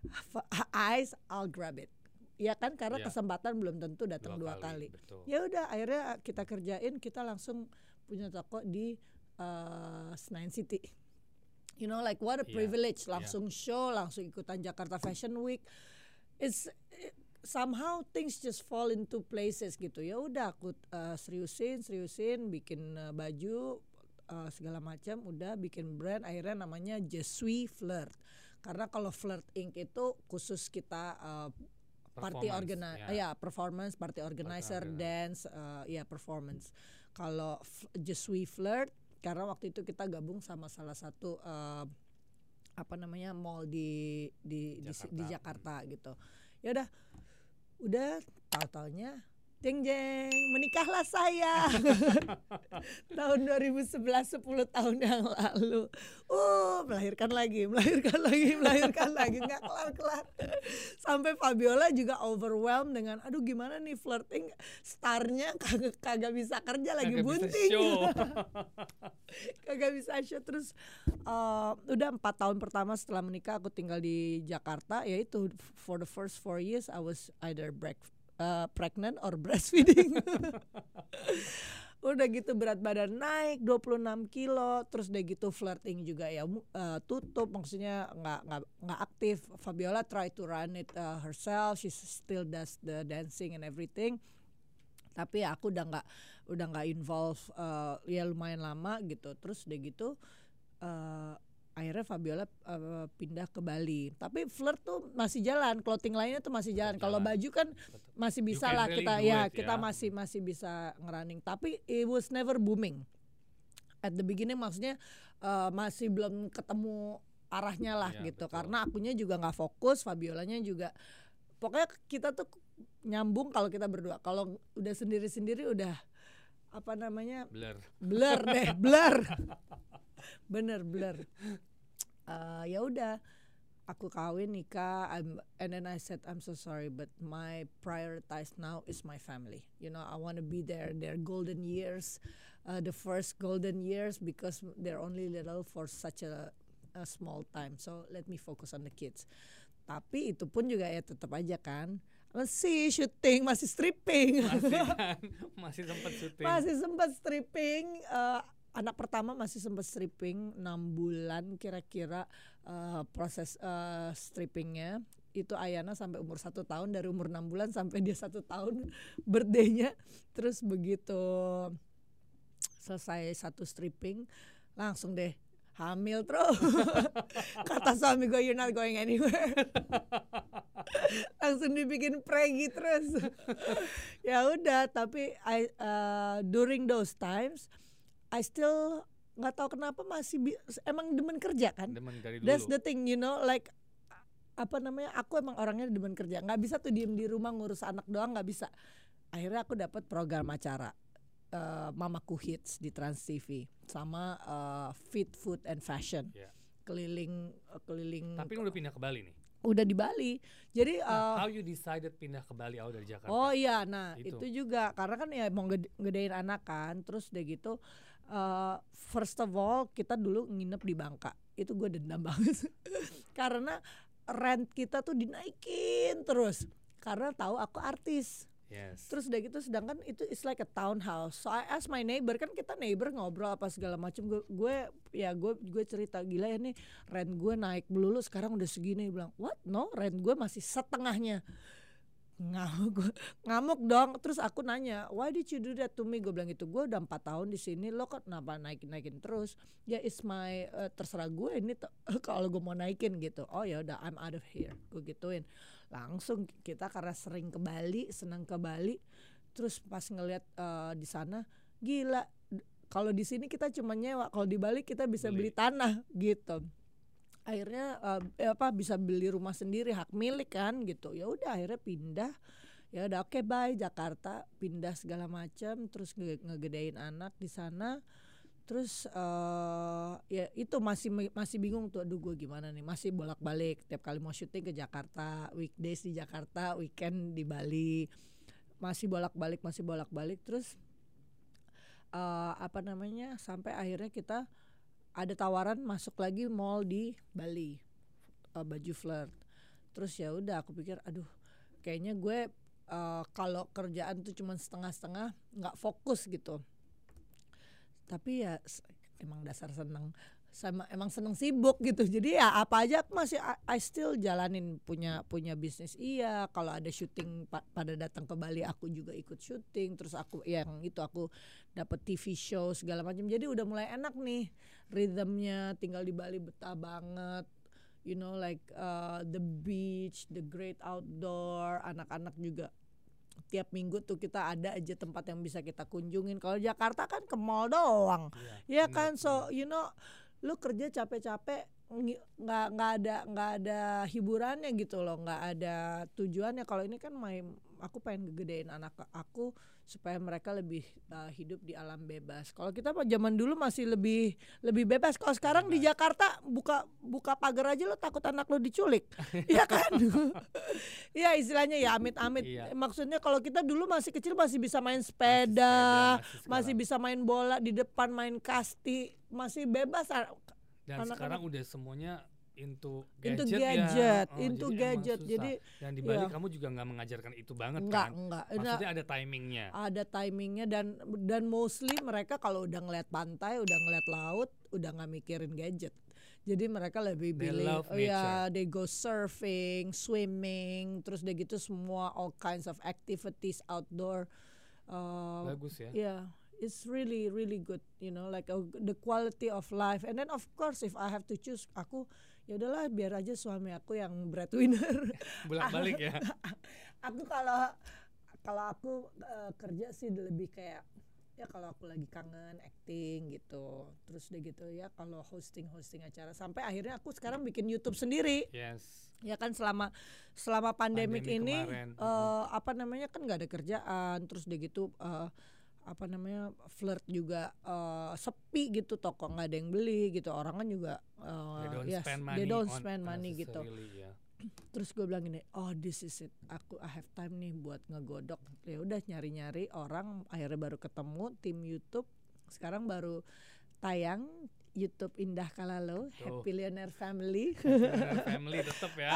Speaker 2: eyes, I'll grab it. Ya kan, karena
Speaker 1: Yeah.
Speaker 2: kesempatan belum tentu datang dua,
Speaker 1: Dua
Speaker 2: kali.
Speaker 1: kali, betul.
Speaker 2: Ya udah, akhirnya kita kerjain, kita langsung punya toko di uh, Senayan City. You know, like what a
Speaker 1: Yeah,
Speaker 2: privilege.
Speaker 1: yeah.
Speaker 2: Langsung show, langsung ikutan Jakarta Fashion Week. It's it, somehow things just fall into places gitu. Ya udah, aku uh, seriusin, seriusin, bikin uh, baju. Uh, segala macam, udah bikin brand, akhirnya namanya Je suis Flirt. Karena kalau Flirt Incorporated itu khusus kita uh, party
Speaker 1: Performance,
Speaker 2: organizer,
Speaker 1: ya.
Speaker 2: uh, ya performance, party organizer,
Speaker 1: organizer.
Speaker 2: dance, uh, ya performance. Kalau f- Je suis Flirt karena waktu itu kita gabung sama salah satu uh, apa namanya mall di di di,
Speaker 1: Jakarta.
Speaker 2: di Jakarta gitu. Ya udah, udah tahu-taunya jeng jeng menikahlah saya tahun dua ribu sebelas, sepuluh tahun yang lalu. Uh, melahirkan lagi, melahirkan lagi, melahirkan lagi, nggak kelar-kelar. Sampai Fabiola juga overwhelmed dengan, aduh gimana nih flirting, starnya kagak kagak bisa kerja lagi,
Speaker 1: Kagak bisa
Speaker 2: bunting.
Speaker 1: show.
Speaker 2: Kagak bisa show. Terus uh, udah empat tahun pertama setelah menikah aku tinggal di Jakarta, yaitu for the first four years I was either break Uh, pregnant or breastfeeding. Udah gitu berat badan naik dua puluh enam kilo, terus udah gitu flirting juga ya uh, tutup, maksudnya nggak nggak nggak aktif. Fabiola try to run it uh, herself, she still does the dancing and everything. Tapi ya aku udah nggak udah nggak involve uh, ya lumayan lama gitu. Terus udah gitu uh, akhirnya Fabiola uh, pindah ke Bali. Tapi flirt tuh masih jalan, clothing lainnya tuh masih jalan. Kalau baju kan masih bisa
Speaker 1: You can
Speaker 2: lah
Speaker 1: really
Speaker 2: kita
Speaker 1: do
Speaker 2: ya,
Speaker 1: it,
Speaker 2: kita
Speaker 1: ya.
Speaker 2: masih masih bisa ngerunning. Tapi it was never booming. At the beginning maksudnya uh, masih belum ketemu arahnya lah
Speaker 1: Iya,
Speaker 2: gitu.
Speaker 1: betul.
Speaker 2: Karena akunya juga nggak fokus, Fabiolanya juga. Pokoknya kita tuh nyambung kalau kita berdua. Kalau udah sendiri-sendiri udah apa namanya?
Speaker 1: Blur.
Speaker 2: Blur deh, blur. Bener blur. Uh, ya udah, aku kawin nikah, I'm, and then I said I'm so sorry, but my prioritize now is my family. You know, I want to be there. Their golden years, uh, the first golden years, because they're only little for such a, a small time. So let me focus on the kids. Tapi itu pun juga ya tetap aja kan. Masih syuting, masih stripping.
Speaker 1: Masih kan, masih sempat syuting.
Speaker 2: Masih sempat stripping. Uh, anak pertama masih sempat stripping enam bulan kira-kira uh, proses uh, strippingnya. Itu Ayana sampai umur satu tahun, dari umur enam bulan sampai dia satu tahun birthday-nya. Terus begitu selesai satu stripping langsung deh hamil terus. Kata suami gue, you're not going anywhere. Langsung dibikin pregi terus. Ya udah, tapi I, uh, during those times I still nggak tahu kenapa masih bi- emang demen kerja kan.
Speaker 1: Demen dari dulu.
Speaker 2: That's the thing, you know, like apa namanya, aku emang orangnya demen kerja, nggak bisa tuh diem di rumah ngurus anak doang, nggak bisa. akhirnya aku dapat program acara uh, Mamaku Hits di Trans T V sama uh, Fit Food and Fashion.
Speaker 1: Yeah.
Speaker 2: Keliling uh, keliling.
Speaker 1: Tapi lu udah pindah ke Bali nih.
Speaker 2: Udah di Bali. Jadi
Speaker 1: nah,
Speaker 2: uh,
Speaker 1: how you decided pindah ke Bali out dari Jakarta?
Speaker 2: Oh iya, nah itu,
Speaker 1: itu
Speaker 2: juga karena kan ya mau gede- gedein anak kan, terus udah gitu uh, first of all kita dulu nginep di Bangka. Itu gue dendam banget. Karena rent kita tuh dinaikin terus karena tahu aku artis.
Speaker 1: Yes.
Speaker 2: Terus udah gitu sedangkan itu it's like a townhouse. So I ask my neighbor, kan kita neighbor ngobrol apa segala macam. Gue gue ya gue gue cerita gila ya nih rent gue naik melulu sekarang udah segini. Dia bilang what no rent gue masih setengahnya. Ngamuk ngamuk dong. Terus aku nanya why did you do that to me? Gue bilang gitu gue udah empat tahun di sini lo kok kenapa naikin naikin terus? Ya it's my uh, terserah gue ini t- kalau gue mau naikin gitu. Oh ya udah I'm out of here. Gue gituin. Langsung kita karena sering ke Bali, senang ke Bali, terus pas ngelihat uh, di sana gila. Kalau di sini kita cuma nyewa, kalau di Bali kita bisa beli, beli tanah gitu. Akhirnya uh, apa bisa beli rumah sendiri hak milik kan gitu. Ya udah akhirnya pindah. Ya udah oke okay, bye Jakarta, pindah segala macam, terus nge- ngegedein anak di sana. Terus uh, ya itu masih masih bingung tuh aduh gue gimana nih, masih bolak-balik tiap kali mau syuting ke Jakarta, weekdays di Jakarta, weekend di Bali, masih bolak-balik masih bolak-balik terus uh, apa namanya sampai akhirnya kita ada tawaran masuk lagi mall di Bali, uh, baju flirt. Terus ya udah aku pikir aduh kayaknya gue uh, kalau kerjaan tuh cuma setengah-setengah nggak fokus gitu. Tapi ya emang dasar seneng sama emang seneng sibuk gitu. Jadi ya apa aja aku masih I, I still jalanin punya punya bisnis. Iya, kalau ada syuting pa, pada datang ke Bali aku juga ikut syuting. Terus aku yang itu aku dapat T V show segala macam. Jadi udah mulai enak nih rhythmnya, tinggal di Bali betah banget. You know like uh, the beach, the great outdoor, anak-anak juga tiap minggu tuh kita ada aja tempat yang bisa kita kunjungin. Kalau Jakarta kan ke mall doang, ya, ya kan. So you know, lu kerja capek-capek nggak nggak ada nggak ada hiburannya gitu loh, nggak ada tujuannya. Kalau ini kan main, aku pengen gedein anak aku supaya mereka lebih uh, hidup di alam bebas. Kalau kita pak zaman dulu masih lebih lebih bebas. Kalau sekarang bebas. Di Jakarta buka buka pagar aja lo takut anak lo diculik, ya kan? Ya istilahnya ya amit-amit. Iya. Maksudnya kalau kita dulu masih kecil masih bisa main sepeda, masih, sepeda, masih, masih bisa main bola di depan, main kasti, masih bebas.
Speaker 1: Dan anak-anak sekarang udah semuanya into gadget,
Speaker 2: into gadget,
Speaker 1: ya. Oh,
Speaker 2: into
Speaker 1: jadi
Speaker 2: gadget. Jadi
Speaker 1: dan di Bali
Speaker 2: ya.
Speaker 1: Kamu juga nggak mengajarkan itu banget
Speaker 2: enggak,
Speaker 1: kan?
Speaker 2: Enggak,
Speaker 1: maksudnya ada timingnya.
Speaker 2: Ada timingnya dan dan mostly mereka kalau udah ngeliat pantai, udah ngeliat laut, udah nggak mikirin gadget. Jadi mereka lebih pilih, oh ya, they go surfing, swimming, terus udah gitu semua all kinds of activities outdoor. Uh,
Speaker 1: Bagus ya.
Speaker 2: Yeah. It's really really good, you know, like uh, the quality of life. And then of course if I have to choose, aku ya udahlah biar aja suami aku yang breadwinner.
Speaker 1: Bolak-balik ya.
Speaker 2: Aku kalau kalau aku uh, kerja sih lebih kayak ya kalau aku lagi kangen acting gitu. Terus udah gitu ya kalau hosting-hosting acara sampai akhirnya aku sekarang bikin YouTube sendiri.
Speaker 1: Yes.
Speaker 2: Ya kan selama selama pandemik
Speaker 1: Pandemi
Speaker 2: ini uh, apa namanya kan nggak ada kerjaan, terus udah gitu uh, apa namanya flirt juga uh, sepi gitu, toko nggak ada yang beli gitu, orang kan juga uh,
Speaker 1: they don't
Speaker 2: yes,
Speaker 1: spend money,
Speaker 2: they don't spend money gitu.
Speaker 1: Yeah.
Speaker 2: Terus gue bilang gini, oh this is it, aku I have time nih buat ngegodok. Ya udah nyari-nyari orang, akhirnya baru ketemu tim YouTube. Sekarang baru tayang YouTube Indah Kalalo, Happy Millionaire Family.
Speaker 1: Millionaire Family tetap ya.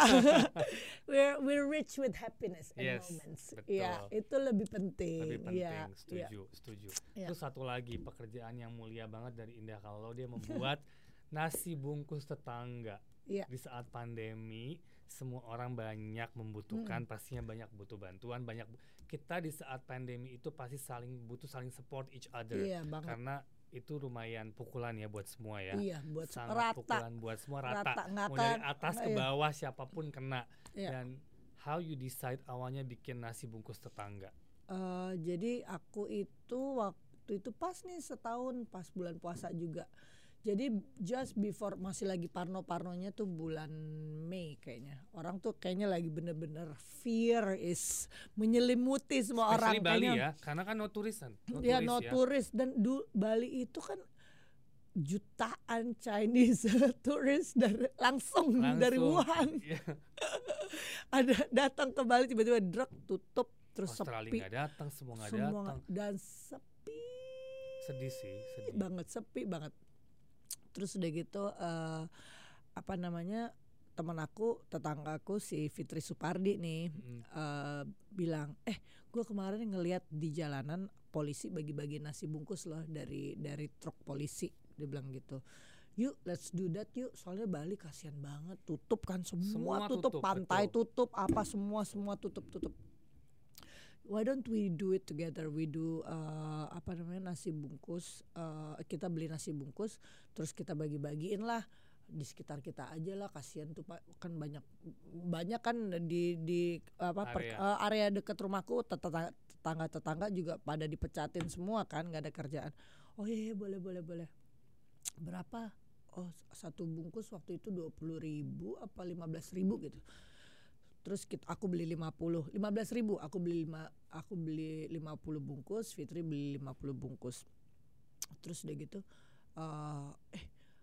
Speaker 2: we're we're rich with happiness and
Speaker 1: yes,
Speaker 2: moments.
Speaker 1: Betul.
Speaker 2: Ya, itu lebih penting.
Speaker 1: Lebih penting,
Speaker 2: ya,
Speaker 1: setuju, ya. setuju.
Speaker 2: Ya.
Speaker 1: Terus satu lagi pekerjaan yang mulia banget dari Indah Kalalo, dia membuat nasi bungkus tetangga. Ya. Di saat pandemi, semua orang banyak membutuhkan, hmm. pastinya banyak butuh bantuan, banyak bu- kita di saat pandemi itu pasti saling butuh saling support each other.
Speaker 2: Iya, banget.
Speaker 1: Karena itu lumayan pukulan ya buat semua ya.
Speaker 2: Iya, buat
Speaker 1: sangat
Speaker 2: rata.
Speaker 1: pukulan buat semua rata.
Speaker 2: rata
Speaker 1: Mau dari atas ke bawah iya. siapapun kena. Iya. Dan how you decide awalnya bikin nasi bungkus tetangga?
Speaker 2: Uh, jadi aku itu waktu itu pas nih setahun pas bulan puasa juga. Jadi just before masih lagi parno-parnonya tuh bulan Mei kayaknya. Orang tuh kayaknya lagi bener-bener fear is menyelimuti semua
Speaker 1: Especially
Speaker 2: orang.
Speaker 1: Bali
Speaker 2: kayaknya,
Speaker 1: ya, karena kan no tourism. No
Speaker 2: ya
Speaker 1: tourist
Speaker 2: no
Speaker 1: ya.
Speaker 2: tourist dan du, Bali itu kan jutaan Chinese tourist dari langsung,
Speaker 1: Langsung.
Speaker 2: dari Wuhan.
Speaker 1: Iya.
Speaker 2: Ada datang ke Bali tiba-tiba drug tutup terus
Speaker 1: Australia
Speaker 2: sepi.
Speaker 1: nggak datang, semua nggak
Speaker 2: Semua
Speaker 1: datang.
Speaker 2: dan sepi
Speaker 1: Sedih sih, sedih.
Speaker 2: banget, sepi banget. Terus udah gitu uh, apa namanya teman aku, tetanggaku si Fitri Supardi nih
Speaker 1: Mm-hmm.
Speaker 2: uh, bilang, eh gue kemarin ngelihat di jalanan polisi bagi-bagi nasi bungkus loh dari dari truk polisi, dia bilang gitu. Yuk let's do that yuk, soalnya Bali kasihan banget, tutup kan semua,
Speaker 1: Semua
Speaker 2: tutup,
Speaker 1: tutup,
Speaker 2: pantai
Speaker 1: betul.
Speaker 2: tutup, apa semua semua tutup tutup. Why don't we do it together? We do uh, apa namanya nasi bungkus. Uh, kita beli nasi bungkus, terus kita bagi-bagiin lah di sekitar kita aja lah. Kasihan tuh Pak, kan banyak banyak kan di di apa per,
Speaker 1: Area.
Speaker 2: uh, area dekat rumahku tetangga tetangga tetangga juga pada dipecatin semua kan, nggak ada kerjaan. Oh iya, iya boleh boleh boleh. Berapa? Oh satu bungkus waktu itu dua puluh ribu apa lima belas ribu gitu. Terus kita, aku beli lima puluh, lima belas ribu, aku beli lima, aku beli lima puluh bungkus, Fitri beli lima puluh bungkus. Terus udah gitu, uh, eh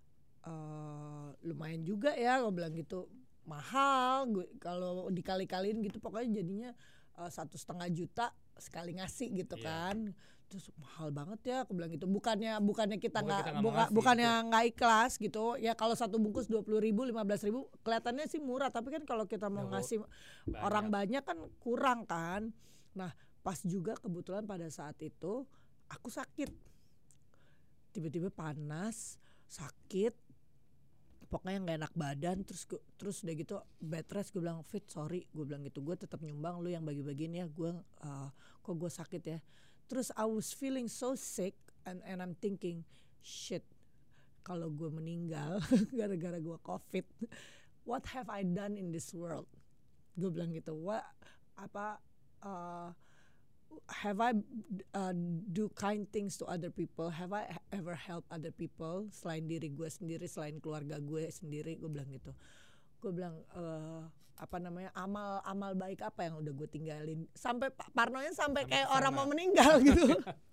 Speaker 2: uh, lumayan juga ya, gue bilang gitu, mahal, gue kalau dikali-kaliin gitu, pokoknya jadinya uh, satu setengah juta sekali ngasih gitu
Speaker 1: Iya.
Speaker 2: kan. Terus mahal banget ya, aku bilang gitu. Bukannya bukannya kita
Speaker 1: Bukan
Speaker 2: nggak
Speaker 1: kita nggak mau
Speaker 2: buka,
Speaker 1: ngasih
Speaker 2: bukannya
Speaker 1: gitu.
Speaker 2: nggak ikhlas gitu. Ya kalau satu bungkus dua puluh ribu, lima belas ribu kelihatannya sih murah, tapi kan kalau kita mau
Speaker 1: Ya,
Speaker 2: ngasih
Speaker 1: banyak.
Speaker 2: orang banyak kan kurang kan. Nah, pas juga kebetulan pada saat itu aku sakit. Tiba-tiba panas, sakit. Pokoknya nggak enak badan, terus gu- terus udah gitu bed rest. Gue bilang Fit sorry, gue bilang gitu, gue tetap nyumbang, lu yang bagi-bagiin ya, gue uh, kok gue sakit ya. Terus I was feeling so sick and and I'm thinking shit, kalau gue meninggal gara-gara gue COVID, what have I done in this world? Gue bilang gitu, what apa uh, have I uh, do kind things to other people? Have I ever help other people selain diri gue sendiri, selain keluarga gue sendiri? Gue bilang gitu. Gue bilang uh, apa namanya amal-amal baik apa yang udah gue tinggalin? Sampai parnonya sampai
Speaker 1: Sampai
Speaker 2: kayak
Speaker 1: kesana.
Speaker 2: orang mau meninggal gitu.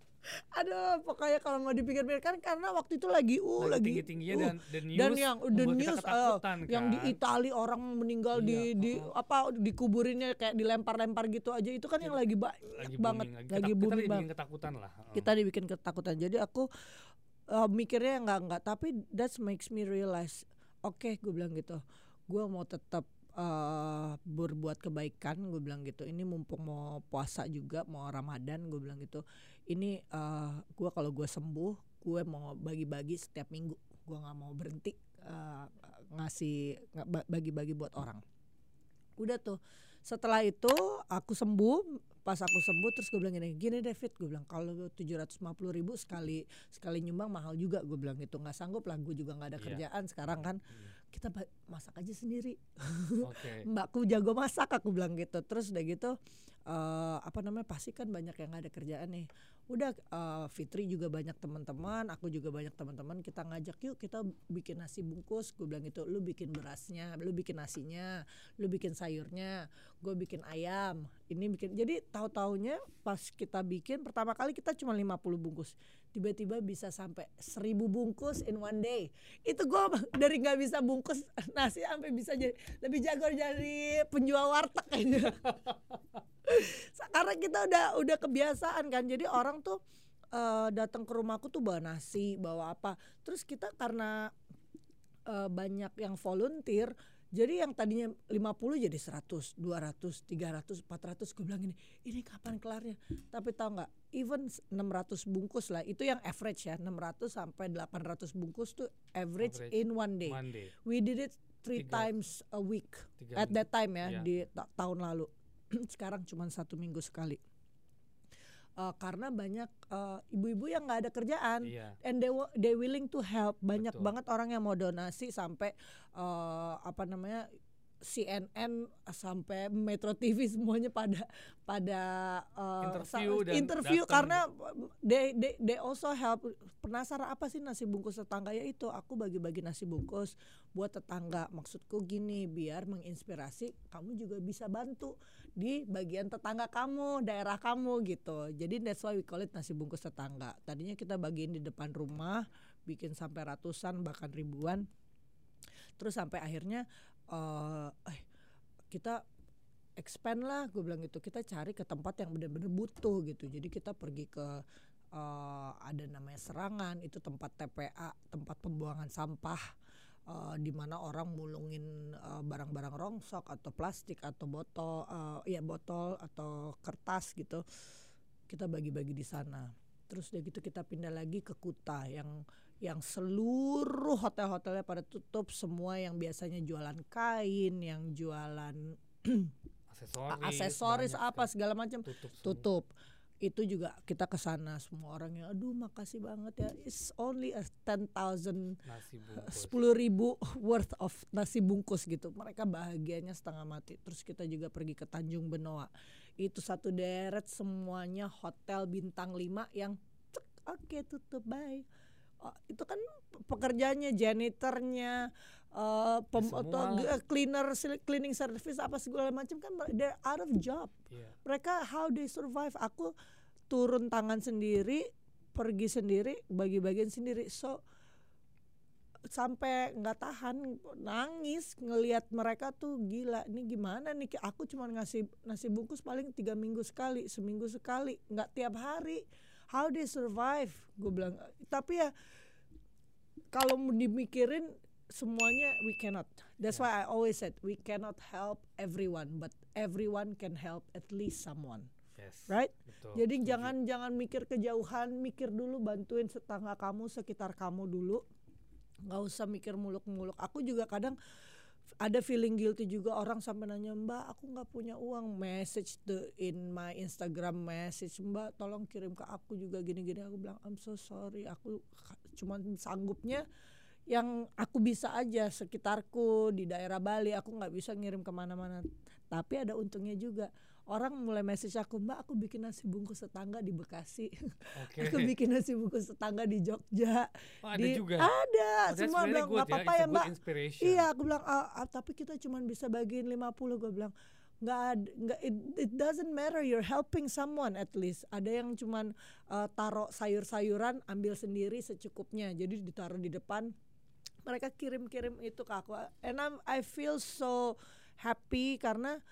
Speaker 2: Aduh, pokoknya kalau mau dipikir-pikir kan karena waktu itu lagi uh
Speaker 1: Lagi
Speaker 2: lagi
Speaker 1: tinggi-tingginya
Speaker 2: uh,
Speaker 1: dan the news
Speaker 2: dan yang the
Speaker 1: membuat kita
Speaker 2: news uh,
Speaker 1: ketakutan
Speaker 2: yang
Speaker 1: kan.
Speaker 2: di Italia orang meninggal
Speaker 1: Iya,
Speaker 2: di di
Speaker 1: oh.
Speaker 2: apa dikuburinnya kayak dilempar-lempar gitu aja, itu kan yang lagi banyak
Speaker 1: lagi
Speaker 2: banget,
Speaker 1: booming,
Speaker 2: lagi
Speaker 1: Ketak-
Speaker 2: booming
Speaker 1: kita
Speaker 2: banget.
Speaker 1: dibikin ketakutan lah. Heeh.
Speaker 2: Kita dibikin ketakutan. Jadi aku uh, mikirnya nggak nggak tapi that makes me realize, oke okay, gue bilang gitu, gue mau tetap uh, berbuat kebaikan, gue bilang gitu. Ini mumpung mau puasa juga, mau Ramadan, gue bilang gitu. Ini uh, gue kalau gue sembuh, gue mau bagi-bagi setiap minggu. Gue nggak mau berhenti uh, ngasih nggak bagi-bagi buat orang. Udah tuh. Setelah itu aku sembuh. Pas aku sembuh terus gue bilang gini, gini David, gue bilang kalau tujuh ratus lima puluh ribu sekali sekali nyumbang mahal juga, gue bilang gitu, nggak sanggup lah, gue juga nggak ada
Speaker 1: Iya.
Speaker 2: kerjaan sekarang kan,
Speaker 1: Hmm.
Speaker 2: kita ba- masak aja sendiri.
Speaker 1: Oke.
Speaker 2: Mbakku jago masak, aku bilang gitu. Terus udah gitu uh, apa namanya pasti kan banyak yang nggak ada kerjaan nih. Udah uh, Fitri juga banyak teman-teman, aku juga banyak teman-teman, kita ngajak yuk kita bikin nasi bungkus, gue bilang gitu. Lu bikin berasnya, lu bikin nasinya, lu bikin sayurnya, gue bikin ayam, ini bikin. Jadi tahu-taunya pas kita bikin pertama kali kita cuma lima puluh bungkus, tiba-tiba bisa sampai seribu bungkus in one day. Itu gue dari nggak bisa bungkus nasi sampai bisa jadi lebih jago jadi penjual warteg kayaknya. Karena kita udah udah kebiasaan kan, jadi orang tuh uh, datang ke rumahku tuh bawa nasi, bawa apa. Terus kita karena uh, banyak yang volunteer, jadi yang tadinya lima puluh jadi seratus, dua ratus, tiga ratus, empat ratus. Gue bilang gini, ini kapan kelarnya? Tapi tahu nggak, even enam ratus bungkus lah, itu yang average ya, enam ratus sampai delapan ratus bungkus tuh average,
Speaker 1: Average
Speaker 2: in one day.
Speaker 1: Monday.
Speaker 2: We did it three
Speaker 1: Tiga-
Speaker 2: times a week
Speaker 1: tiga
Speaker 2: at that time ya,
Speaker 1: Iya.
Speaker 2: di ta- tahun lalu. Sekarang cuma satu minggu sekali. Uh, karena banyak uh, ibu-ibu yang nggak ada kerjaan,
Speaker 1: Iya.
Speaker 2: and they wa- they willing to help. Banyak
Speaker 1: Betul.
Speaker 2: banget orang yang mau donasi sampai uh, apa namanya C N N sampai Metro T V semuanya pada pada uh,
Speaker 1: Interview
Speaker 2: sa-
Speaker 1: dan
Speaker 2: interview
Speaker 1: datang
Speaker 2: karena they, they they also help. Penasaran apa sih nasi bungkus tetangga, ya itu aku bagi-bagi nasi bungkus buat tetangga. Maksudku gini, biar menginspirasi kamu juga bisa bantu di bagian tetangga kamu, daerah kamu gitu. Jadi that's why we call it nasi bungkus tetangga. Tadinya kita bagiin di depan rumah, bikin sampai ratusan bahkan ribuan. Terus sampai akhirnya uh, eh kita expand lah, gue bilang gitu, kita cari ke tempat yang benar-benar butuh gitu. Jadi kita pergi ke uh, ada namanya Serangan, itu tempat T P A, tempat pembuangan sampah, uh, di mana orang mulungin uh, barang-barang rongsok atau plastik atau botol, uh, ya botol atau kertas gitu. Kita bagi-bagi di sana. Terus udah gitu kita pindah lagi ke Kuta yang yang seluruh hotel-hotelnya pada tutup, semua yang biasanya jualan kain, yang jualan
Speaker 1: aksesoris,
Speaker 2: aksesoris
Speaker 1: banyak
Speaker 2: apa
Speaker 1: kan.
Speaker 2: segala macam
Speaker 1: Tutup semua.
Speaker 2: tutup. Itu juga kita ke sana, semua orang yang aduh makasih banget ya, it's only a ten thousand
Speaker 1: Nasi bungkus.
Speaker 2: sepuluh ribu worth of nasi bungkus gitu. Mereka bahagianya setengah mati. Terus kita juga pergi ke Tanjung Benoa, itu satu deret semuanya hotel bintang lima yang cek, oke okay, tutup, bye. Oh, itu kan pekerjaannya, janitornya, uh, pem,
Speaker 1: Ya,
Speaker 2: atau
Speaker 1: semua.
Speaker 2: cleaner, cleaning service apa segala macam kan, they're out of job.
Speaker 1: Iya.
Speaker 2: Mereka how they survive. Aku turun tangan sendiri, pergi sendiri, bagi-bagian sendiri. So sampai nggak tahan, nangis ngelihat mereka tuh, gila ini gimana nih, aku cuma ngasih nasi bungkus paling tiga minggu sekali, seminggu sekali, nggak tiap hari. How they survive, gue bilang. Tapi ya kalau mau dimikirin semuanya we cannot. That's
Speaker 1: Yeah.
Speaker 2: why I always said we cannot help everyone, but everyone can help at least someone.
Speaker 1: Yes.
Speaker 2: Right?
Speaker 1: Betul,
Speaker 2: Jadi
Speaker 1: setuju.
Speaker 2: jangan jangan mikir kejauhan, mikir dulu, bantuin tetangga kamu, sekitar kamu dulu. Nggak usah mikir muluk-muluk. Aku juga kadang ada feeling guilty juga, orang sampai nanya, Mbak aku nggak punya uang, message the in my Instagram message, Mbak tolong kirim ke aku juga gini-gini. Aku bilang I'm so sorry, aku cuman sanggupnya yang aku bisa aja sekitarku di daerah Bali, aku nggak bisa ngirim kemana-mana. Tapi ada untungnya juga, orang mulai message aku, Mbak aku bikin nasi bungkus tetangga di Bekasi.
Speaker 1: Oke.
Speaker 2: Aku bikin nasi bungkus tetangga di Jogja.
Speaker 1: Oh, ada
Speaker 2: di,
Speaker 1: juga.
Speaker 2: Ada.
Speaker 1: Oh, that's
Speaker 2: Semua
Speaker 1: very
Speaker 2: bilang
Speaker 1: good
Speaker 2: nggak
Speaker 1: ya.
Speaker 2: apa-apa
Speaker 1: It's a
Speaker 2: ya
Speaker 1: good
Speaker 2: Mbak.
Speaker 1: inspiration.
Speaker 2: Iya, aku bilang ah, ah, tapi kita cuma bisa bagiin lima puluh. Gue bilang nggak ad- nggak it, it doesn't matter, you're helping someone at least. Ada yang cuman uh, taruh sayur-sayuran, ambil sendiri secukupnya, jadi ditaruh di depan, mereka kirim-kirim itu ke aku, and I'm, I feel so happy karena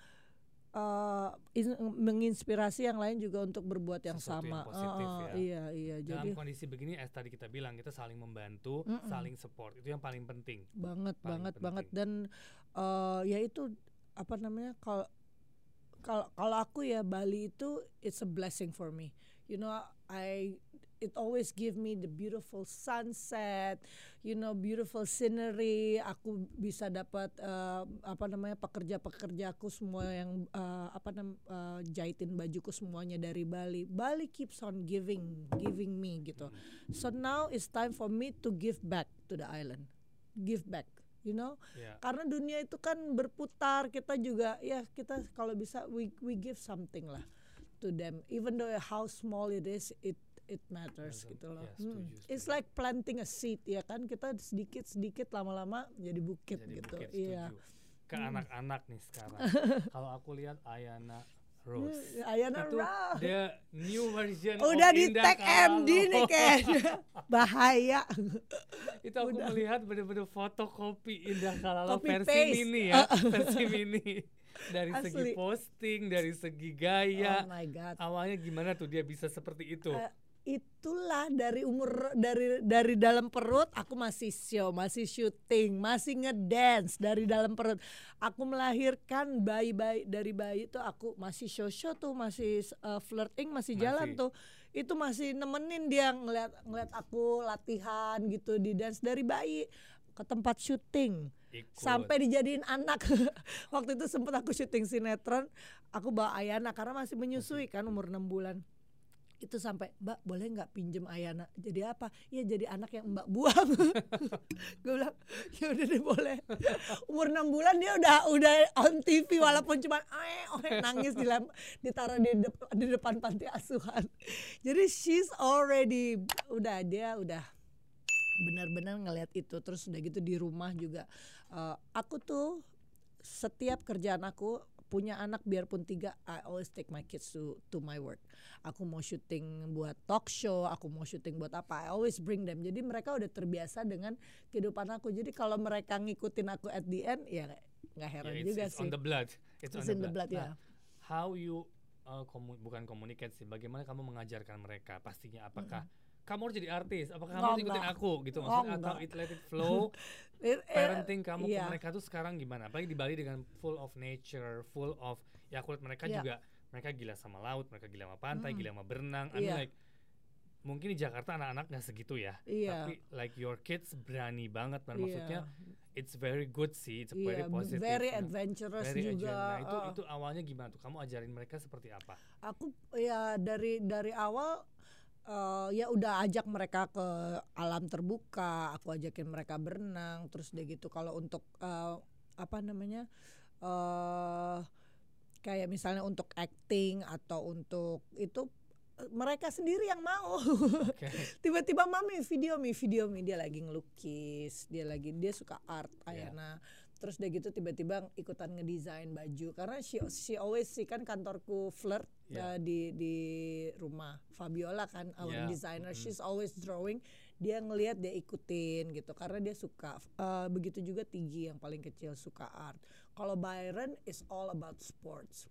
Speaker 2: uh, in, menginspirasi yang lain juga untuk berbuat yang
Speaker 1: Sesuatu
Speaker 2: sama.
Speaker 1: yang positif
Speaker 2: Uh, uh,
Speaker 1: ya.
Speaker 2: Iya iya.
Speaker 1: Dalam
Speaker 2: Jadi
Speaker 1: kondisi begini, as tadi kita bilang, kita saling membantu,
Speaker 2: Mm-mm.
Speaker 1: saling support, itu yang paling penting.
Speaker 2: banget
Speaker 1: Paling
Speaker 2: banget
Speaker 1: penting.
Speaker 2: banget dan uh, ya itu apa namanya, kalau kalau kalau aku ya Bali itu it's a blessing for me. You know, I it always give me the beautiful sunset, you know, beautiful scenery. Aku bisa dapat uh, apa namanya, pekerja-pekerjaku semua yang uh, apa nam uh, jahitin bajuku semuanya dari Bali. Bali keeps on giving, giving me gitu. So now it's time for me to give back to the island. Give back, you know.
Speaker 1: Ya.
Speaker 2: Karena dunia itu kan berputar, kita juga ya kita kalau bisa we we give something lah to them, even though how small it is, it it matters
Speaker 1: Doesn't-
Speaker 2: gitu loh.
Speaker 1: ya,
Speaker 2: Hmm.
Speaker 1: setuju,
Speaker 2: It's
Speaker 1: setuju.
Speaker 2: like planting a seed ya kan, kita sedikit sedikit lama-lama jadi bukit
Speaker 1: Jadi
Speaker 2: gitu.
Speaker 1: bukit,
Speaker 2: Iya.
Speaker 1: setuju. Ke anak-anak nih sekarang. Kalau aku lihat Ayana Rose,
Speaker 2: Ayana
Speaker 1: itu
Speaker 2: Rose.
Speaker 1: the new version
Speaker 2: Udah
Speaker 1: of
Speaker 2: di
Speaker 1: Indah
Speaker 2: tag M D
Speaker 1: Kalalo.
Speaker 2: nih kayaknya. Bahaya.
Speaker 1: Itu aku
Speaker 2: Udah.
Speaker 1: melihat bener-bener fotokopi Indah Kalalo
Speaker 2: Copy
Speaker 1: versi
Speaker 2: paste.
Speaker 1: mini ya, versi mini. Dari
Speaker 2: Asli.
Speaker 1: segi posting, dari segi gaya.
Speaker 2: Oh my god.
Speaker 1: Awalnya gimana tuh dia bisa seperti itu?
Speaker 2: Eh, itulah dari umur dari dari dalam perut aku masih show, masih syuting, masih ngedance dari dalam perut. Aku melahirkan bayi-bayi, dari bayi tuh aku masih show-show tuh, masih uh, flirting, masih,
Speaker 1: Masih.
Speaker 2: jalan tuh. Itu masih nemenin dia ngeliat ngeliat aku latihan gitu di dance dari bayi ke tempat syuting.
Speaker 1: Ikut.
Speaker 2: Sampai dijadiin anak. Waktu itu sempat aku syuting sinetron, aku bawa Ayana karena masih menyusui kan, umur enam bulan. Itu sampai, Mbak boleh nggak pinjem Ayana jadi apa? Ya jadi anak yang Mbak buang. Gue bilang ya udah deh boleh. Umur enam bulan dia udah udah on T V walaupun cuma eh oh, nangis di ditaruh di, dep di depan panti asuhan. Jadi she's already udah dia udah benar-benar ngelihat itu. Terus udah gitu di rumah juga uh, aku tuh setiap kerjaan aku punya anak biarpun tiga, I always take my kids to to my work. Aku mau syuting buat talk show, aku mau syuting buat apa, I always bring them. Jadi mereka udah terbiasa dengan kehidupan aku. Jadi kalau mereka ngikutin aku at the end, ya nggak heran
Speaker 1: yeah, it's,
Speaker 2: juga
Speaker 1: it's
Speaker 2: sih.
Speaker 1: On the blood. It's,
Speaker 2: it's
Speaker 1: on
Speaker 2: in the blood,
Speaker 1: blood.
Speaker 2: ya.
Speaker 1: Nah, how you uh, komu bukan komunikasi sih, bagaimana kamu mengajarkan mereka? Pastinya apakah mm-hmm. kamu harus jadi artis? Apakah kamu harus ikutin aku gitu maksudnya,
Speaker 2: oh,
Speaker 1: atau it let it flow?
Speaker 2: it,
Speaker 1: Parenting kamu
Speaker 2: yeah.
Speaker 1: ke mereka tuh sekarang gimana? Apalagi di Bali dengan full of nature, full of ya kulit mereka yeah. juga mereka gila sama laut, mereka gila sama pantai, mm. gila sama berenang. I mean yeah. like mungkin di Jakarta anak-anak nggak segitu ya,
Speaker 2: yeah.
Speaker 1: tapi like your kids berani banget, dan
Speaker 2: yeah.
Speaker 1: maksudnya it's very good sih, it's
Speaker 2: yeah,
Speaker 1: very positive,
Speaker 2: very
Speaker 1: nah,
Speaker 2: adventurous
Speaker 1: very
Speaker 2: juga.
Speaker 1: Nah itu
Speaker 2: uh.
Speaker 1: itu awalnya gimana tuh? Kamu ajarin mereka seperti apa?
Speaker 2: Aku ya dari dari awal. Uh, ya udah ajak mereka ke alam terbuka, aku ajakin mereka berenang, terus dia gitu. Kalau untuk uh, apa namanya uh, kayak misalnya untuk acting atau untuk itu mereka sendiri yang mau. Okay. Tiba-tiba mami video mi video mi dia lagi ngelukis, dia lagi dia suka art Ayana. Yeah. Terus dia gitu tiba-tiba ikutan ngedesain baju karena she, she always sih kan kantorku flirt yeah. uh, di di rumah Fabiola kan our yeah. designer, mm-hmm. she's always drawing, dia ngelihat dia ikutin gitu karena dia suka. Uh, begitu juga Tigi yang paling kecil suka art. Kalau Byron is all about sports,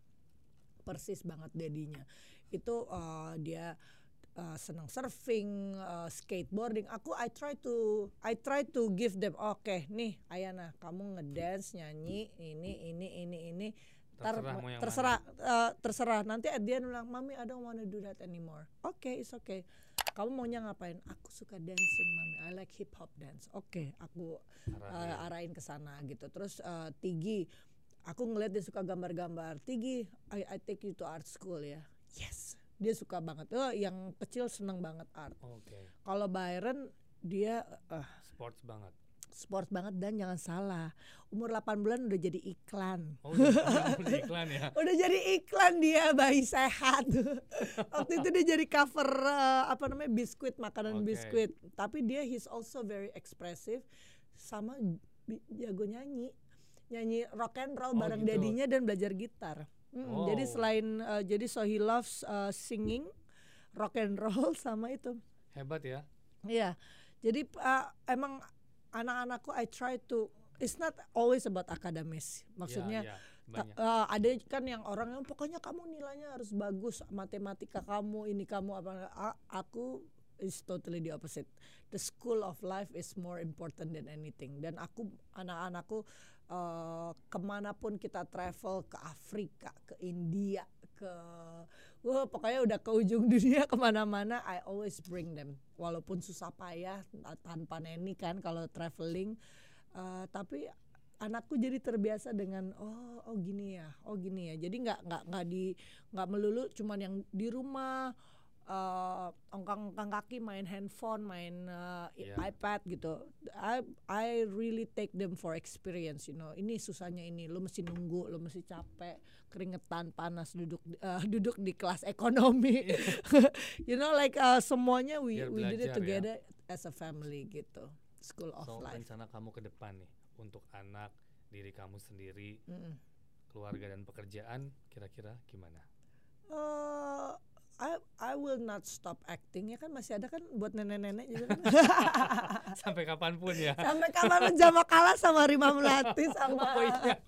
Speaker 2: persis banget dedinya itu uh, dia Uh, senang surfing, uh, skateboarding. Aku I try to I try to give them oke okay, nih Ayana kamu ngedance nyanyi ini ini ini ini
Speaker 1: terserah
Speaker 2: Tar, terserah uh, terserah nanti at the end bilang mami I don't wanna do that anymore. Oke okay, it's okay. Kamu maunya ngapain? Aku suka dancing mami. I like hip hop dance. Oke okay, aku uh, arahin ke sana gitu. Terus uh, Tigi aku ngeliat dia suka gambar-gambar. Tigi I I take you to art school ya. Yes. Dia suka banget. Oh, yang kecil seneng banget art.
Speaker 1: Okay.
Speaker 2: Kalau Byron dia uh,
Speaker 1: sports banget.
Speaker 2: Sports banget dan jangan salah, umur delapan bulan udah jadi iklan.
Speaker 1: Oh, udah, udah iklan ya.
Speaker 2: Udah jadi iklan dia bayi sehat. Waktu itu dia jadi cover uh, apa namanya biskuit, makanan okay. biskuit. Tapi dia he's also very expressive sama jago nyanyi. Nyanyi rock and roll oh, bareng gitu. Dadinya dan belajar gitar. Hmm, oh. Jadi selain uh, jadi so he loves uh, singing, rock and roll sama itu.
Speaker 1: Hebat ya.
Speaker 2: Iya. Jadi uh, emang anak-anakku I try to it's not always about akademis. Maksudnya
Speaker 1: ya, ya,
Speaker 2: ta- uh, ada kan yang orang yang pokoknya kamu nilainya harus bagus, matematika kamu ini kamu apa A- aku is totally the opposite. The school of life is more important than anything. Dan aku anak-anakku Uh, kemanapun kita travel, ke Afrika, ke India, ke wah pokoknya udah ke ujung dunia kemana-mana, I always bring them walaupun susah payah tanpa neni kan kalau traveling, uh, tapi anakku jadi terbiasa dengan oh oh gini ya oh gini ya jadi nggak nggak nggak di nggak melulu cuman yang di rumah Uh, ongkang-ongkang kaki main handphone, main uh, yeah. iPad gitu. I I really take them for experience, you know. Ini susahnya ini, lu mesti nunggu, lu mesti capek, keringetan, panas, duduk uh, duduk di kelas ekonomi. Yeah. You know, like uh, semuanya we
Speaker 1: Biar
Speaker 2: we
Speaker 1: belajar,
Speaker 2: did it together
Speaker 1: ya.
Speaker 2: As a family gitu. School of
Speaker 1: so,
Speaker 2: life.
Speaker 1: Rencana kamu ke depan nih untuk anak, diri kamu sendiri,
Speaker 2: Mm-mm.
Speaker 1: keluarga dan pekerjaan, kira-kira gimana?
Speaker 2: Uh, I I will not stop acting ya kan masih ada kan buat nenek-nenek juga kan.
Speaker 1: Sampai kapanpun ya.
Speaker 2: Sampai kapanpun Jama kalah sama Rima Melati sama oh, iya.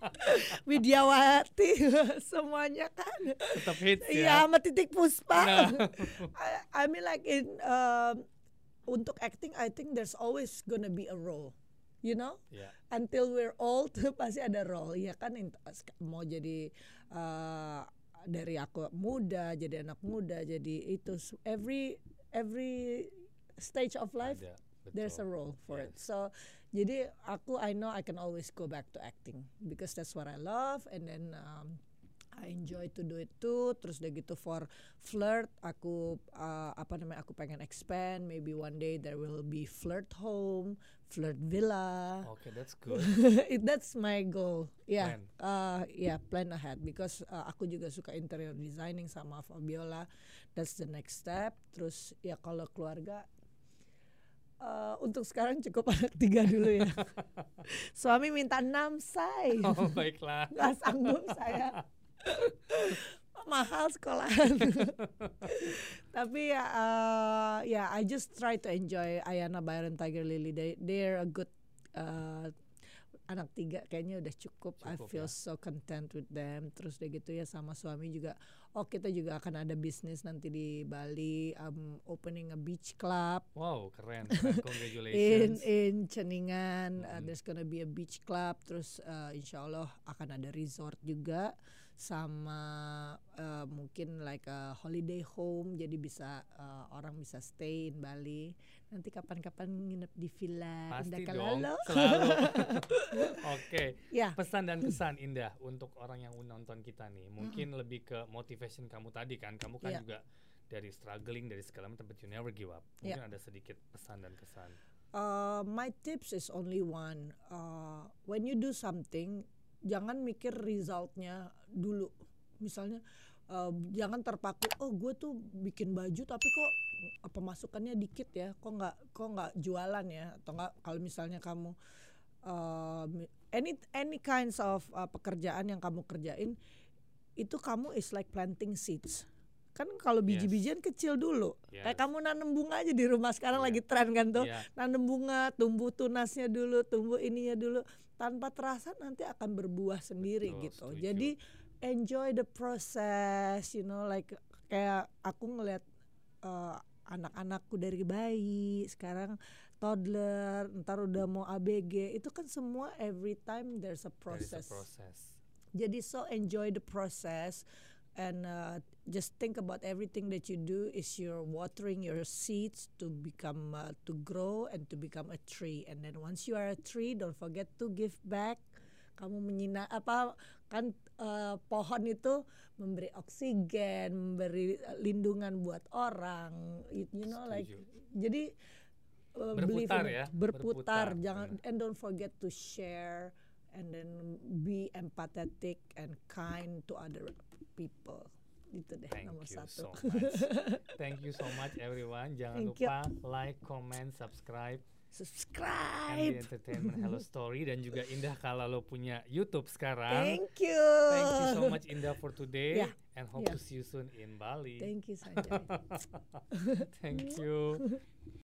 Speaker 2: Widyawati semuanya kan.
Speaker 1: Tetap hits ya.
Speaker 2: Iya sama Titik Puspa.
Speaker 1: No.
Speaker 2: I, I mean like in um, untuk acting I think there's always gonna be a role. You know,
Speaker 1: yeah.
Speaker 2: Until we're old pasti ada role. Ya kan mau jadi uh, dari aku muda jadi anak muda jadi itu every every stage of life ada, there's a role for yes. it. So jadi aku I know I can always go back to acting because that's what I love and then um, I enjoy to do it too. Terus udah gitu for flirt, aku uh, apa namanya, aku pengen expand. Maybe one day there will be flirt home, flirt villa.
Speaker 1: Okay, that's good.
Speaker 2: It, that's my goal. Yeah,
Speaker 1: Plan.
Speaker 2: uh, yeah, plan ahead because uh, aku juga suka interior designing sama Fabiola. That's the next step. Terus ya kalau keluarga, uh, untuk sekarang cukup anak tiga dulu ya. Suami minta enam, say.
Speaker 1: Oh, baiklah.
Speaker 2: Gak sanggup saya. Mahal sekolahan. Tapi ya, uh, ya I just try to enjoy Ayana, Byron, Tiger Lily. They they're a good uh, anak tiga, kayaknya udah cukup.
Speaker 1: Cukup,
Speaker 2: I feel
Speaker 1: ya.
Speaker 2: so content with them. Terus udah gitu ya sama suami juga. Oh, kita juga akan ada bisnis nanti di Bali. I'm opening a beach club.
Speaker 1: Wow, keren, keren.
Speaker 2: in
Speaker 1: Congratulations.
Speaker 2: in Ceningan. Uh,
Speaker 1: Mm-mm.
Speaker 2: there's gonna be a beach club. Terus uh, insya Allah akan ada resort juga, sama uh, mungkin like a holiday home, jadi bisa uh, orang bisa stay in Bali. Nanti kapan-kapan nginep di villa
Speaker 1: Pasti
Speaker 2: Indah
Speaker 1: dong,
Speaker 2: Kalalo.
Speaker 1: selalu. Oke,
Speaker 2: Ya,
Speaker 1: pesan dan kesan Indah untuk orang yang nonton kita nih. Mungkin lebih ke motivation kamu tadi kan. Kamu kan
Speaker 2: Iya.
Speaker 1: juga dari struggling, dari segala macam, but you never give up. Mungkin ada sedikit pesan dan kesan.
Speaker 2: uh, my tips is only one. Uh, when you do something, jangan mikir resultnya dulu. Misalnya uh, jangan terpaku, oh gue tuh bikin baju tapi kok uh, pemasukannya dikit ya, kok nggak kok nggak jualan ya, atau nggak kalau misalnya kamu uh, any any kinds of uh, pekerjaan yang kamu kerjain, itu kamu is like planting seeds. Kan kalau biji-bijian kecil dulu,
Speaker 1: Yes.
Speaker 2: kayak kamu nanam bunga aja di rumah sekarang
Speaker 1: Iya.
Speaker 2: lagi tren kan tuh,
Speaker 1: Iya.
Speaker 2: nanam bunga, tumbuh tunasnya dulu, tumbuh ininya dulu, tanpa terasa nanti akan berbuah sendiri
Speaker 1: Betul,
Speaker 2: gitu.
Speaker 1: setuju.
Speaker 2: Jadi enjoy the process, you know, like kayak aku ngelihat uh, anak-anakku dari bayi, sekarang toddler, ntar udah mau A B G, itu kan semua every time there's a
Speaker 1: There is a
Speaker 2: process.
Speaker 1: process.
Speaker 2: Jadi so enjoy the process and uh, just think about everything that you do is you're watering your seeds to become uh, to grow and to become a tree, and then once you are a tree, don't forget to give back. Kamu menyina apa kan, uh, pohon itu memberi oksigen, memberi uh, lindungan buat orang, you, you know like
Speaker 1: Setuju.
Speaker 2: jadi uh, believe
Speaker 1: Berputar
Speaker 2: in it.
Speaker 1: ya,
Speaker 2: berputar,
Speaker 1: berputar,
Speaker 2: jangan,
Speaker 1: benar.
Speaker 2: and don't forget to share and then be empathetic and kind to other people. Itu deh
Speaker 1: Thank
Speaker 2: nomor
Speaker 1: you
Speaker 2: satu.
Speaker 1: so much. Thank you so much everyone. Jangan
Speaker 2: Thank you.
Speaker 1: lupa like, comment, subscribe M D
Speaker 2: Subscribe.
Speaker 1: Entertainment Hello Story, dan juga Indah kalau lo punya YouTube sekarang.
Speaker 2: Thank you.
Speaker 1: Thank you so much Indah for today,
Speaker 2: Yeah.
Speaker 1: and hope
Speaker 2: Yeah.
Speaker 1: to see you soon in Bali.
Speaker 2: Thank you Sanjay.
Speaker 1: Thank you.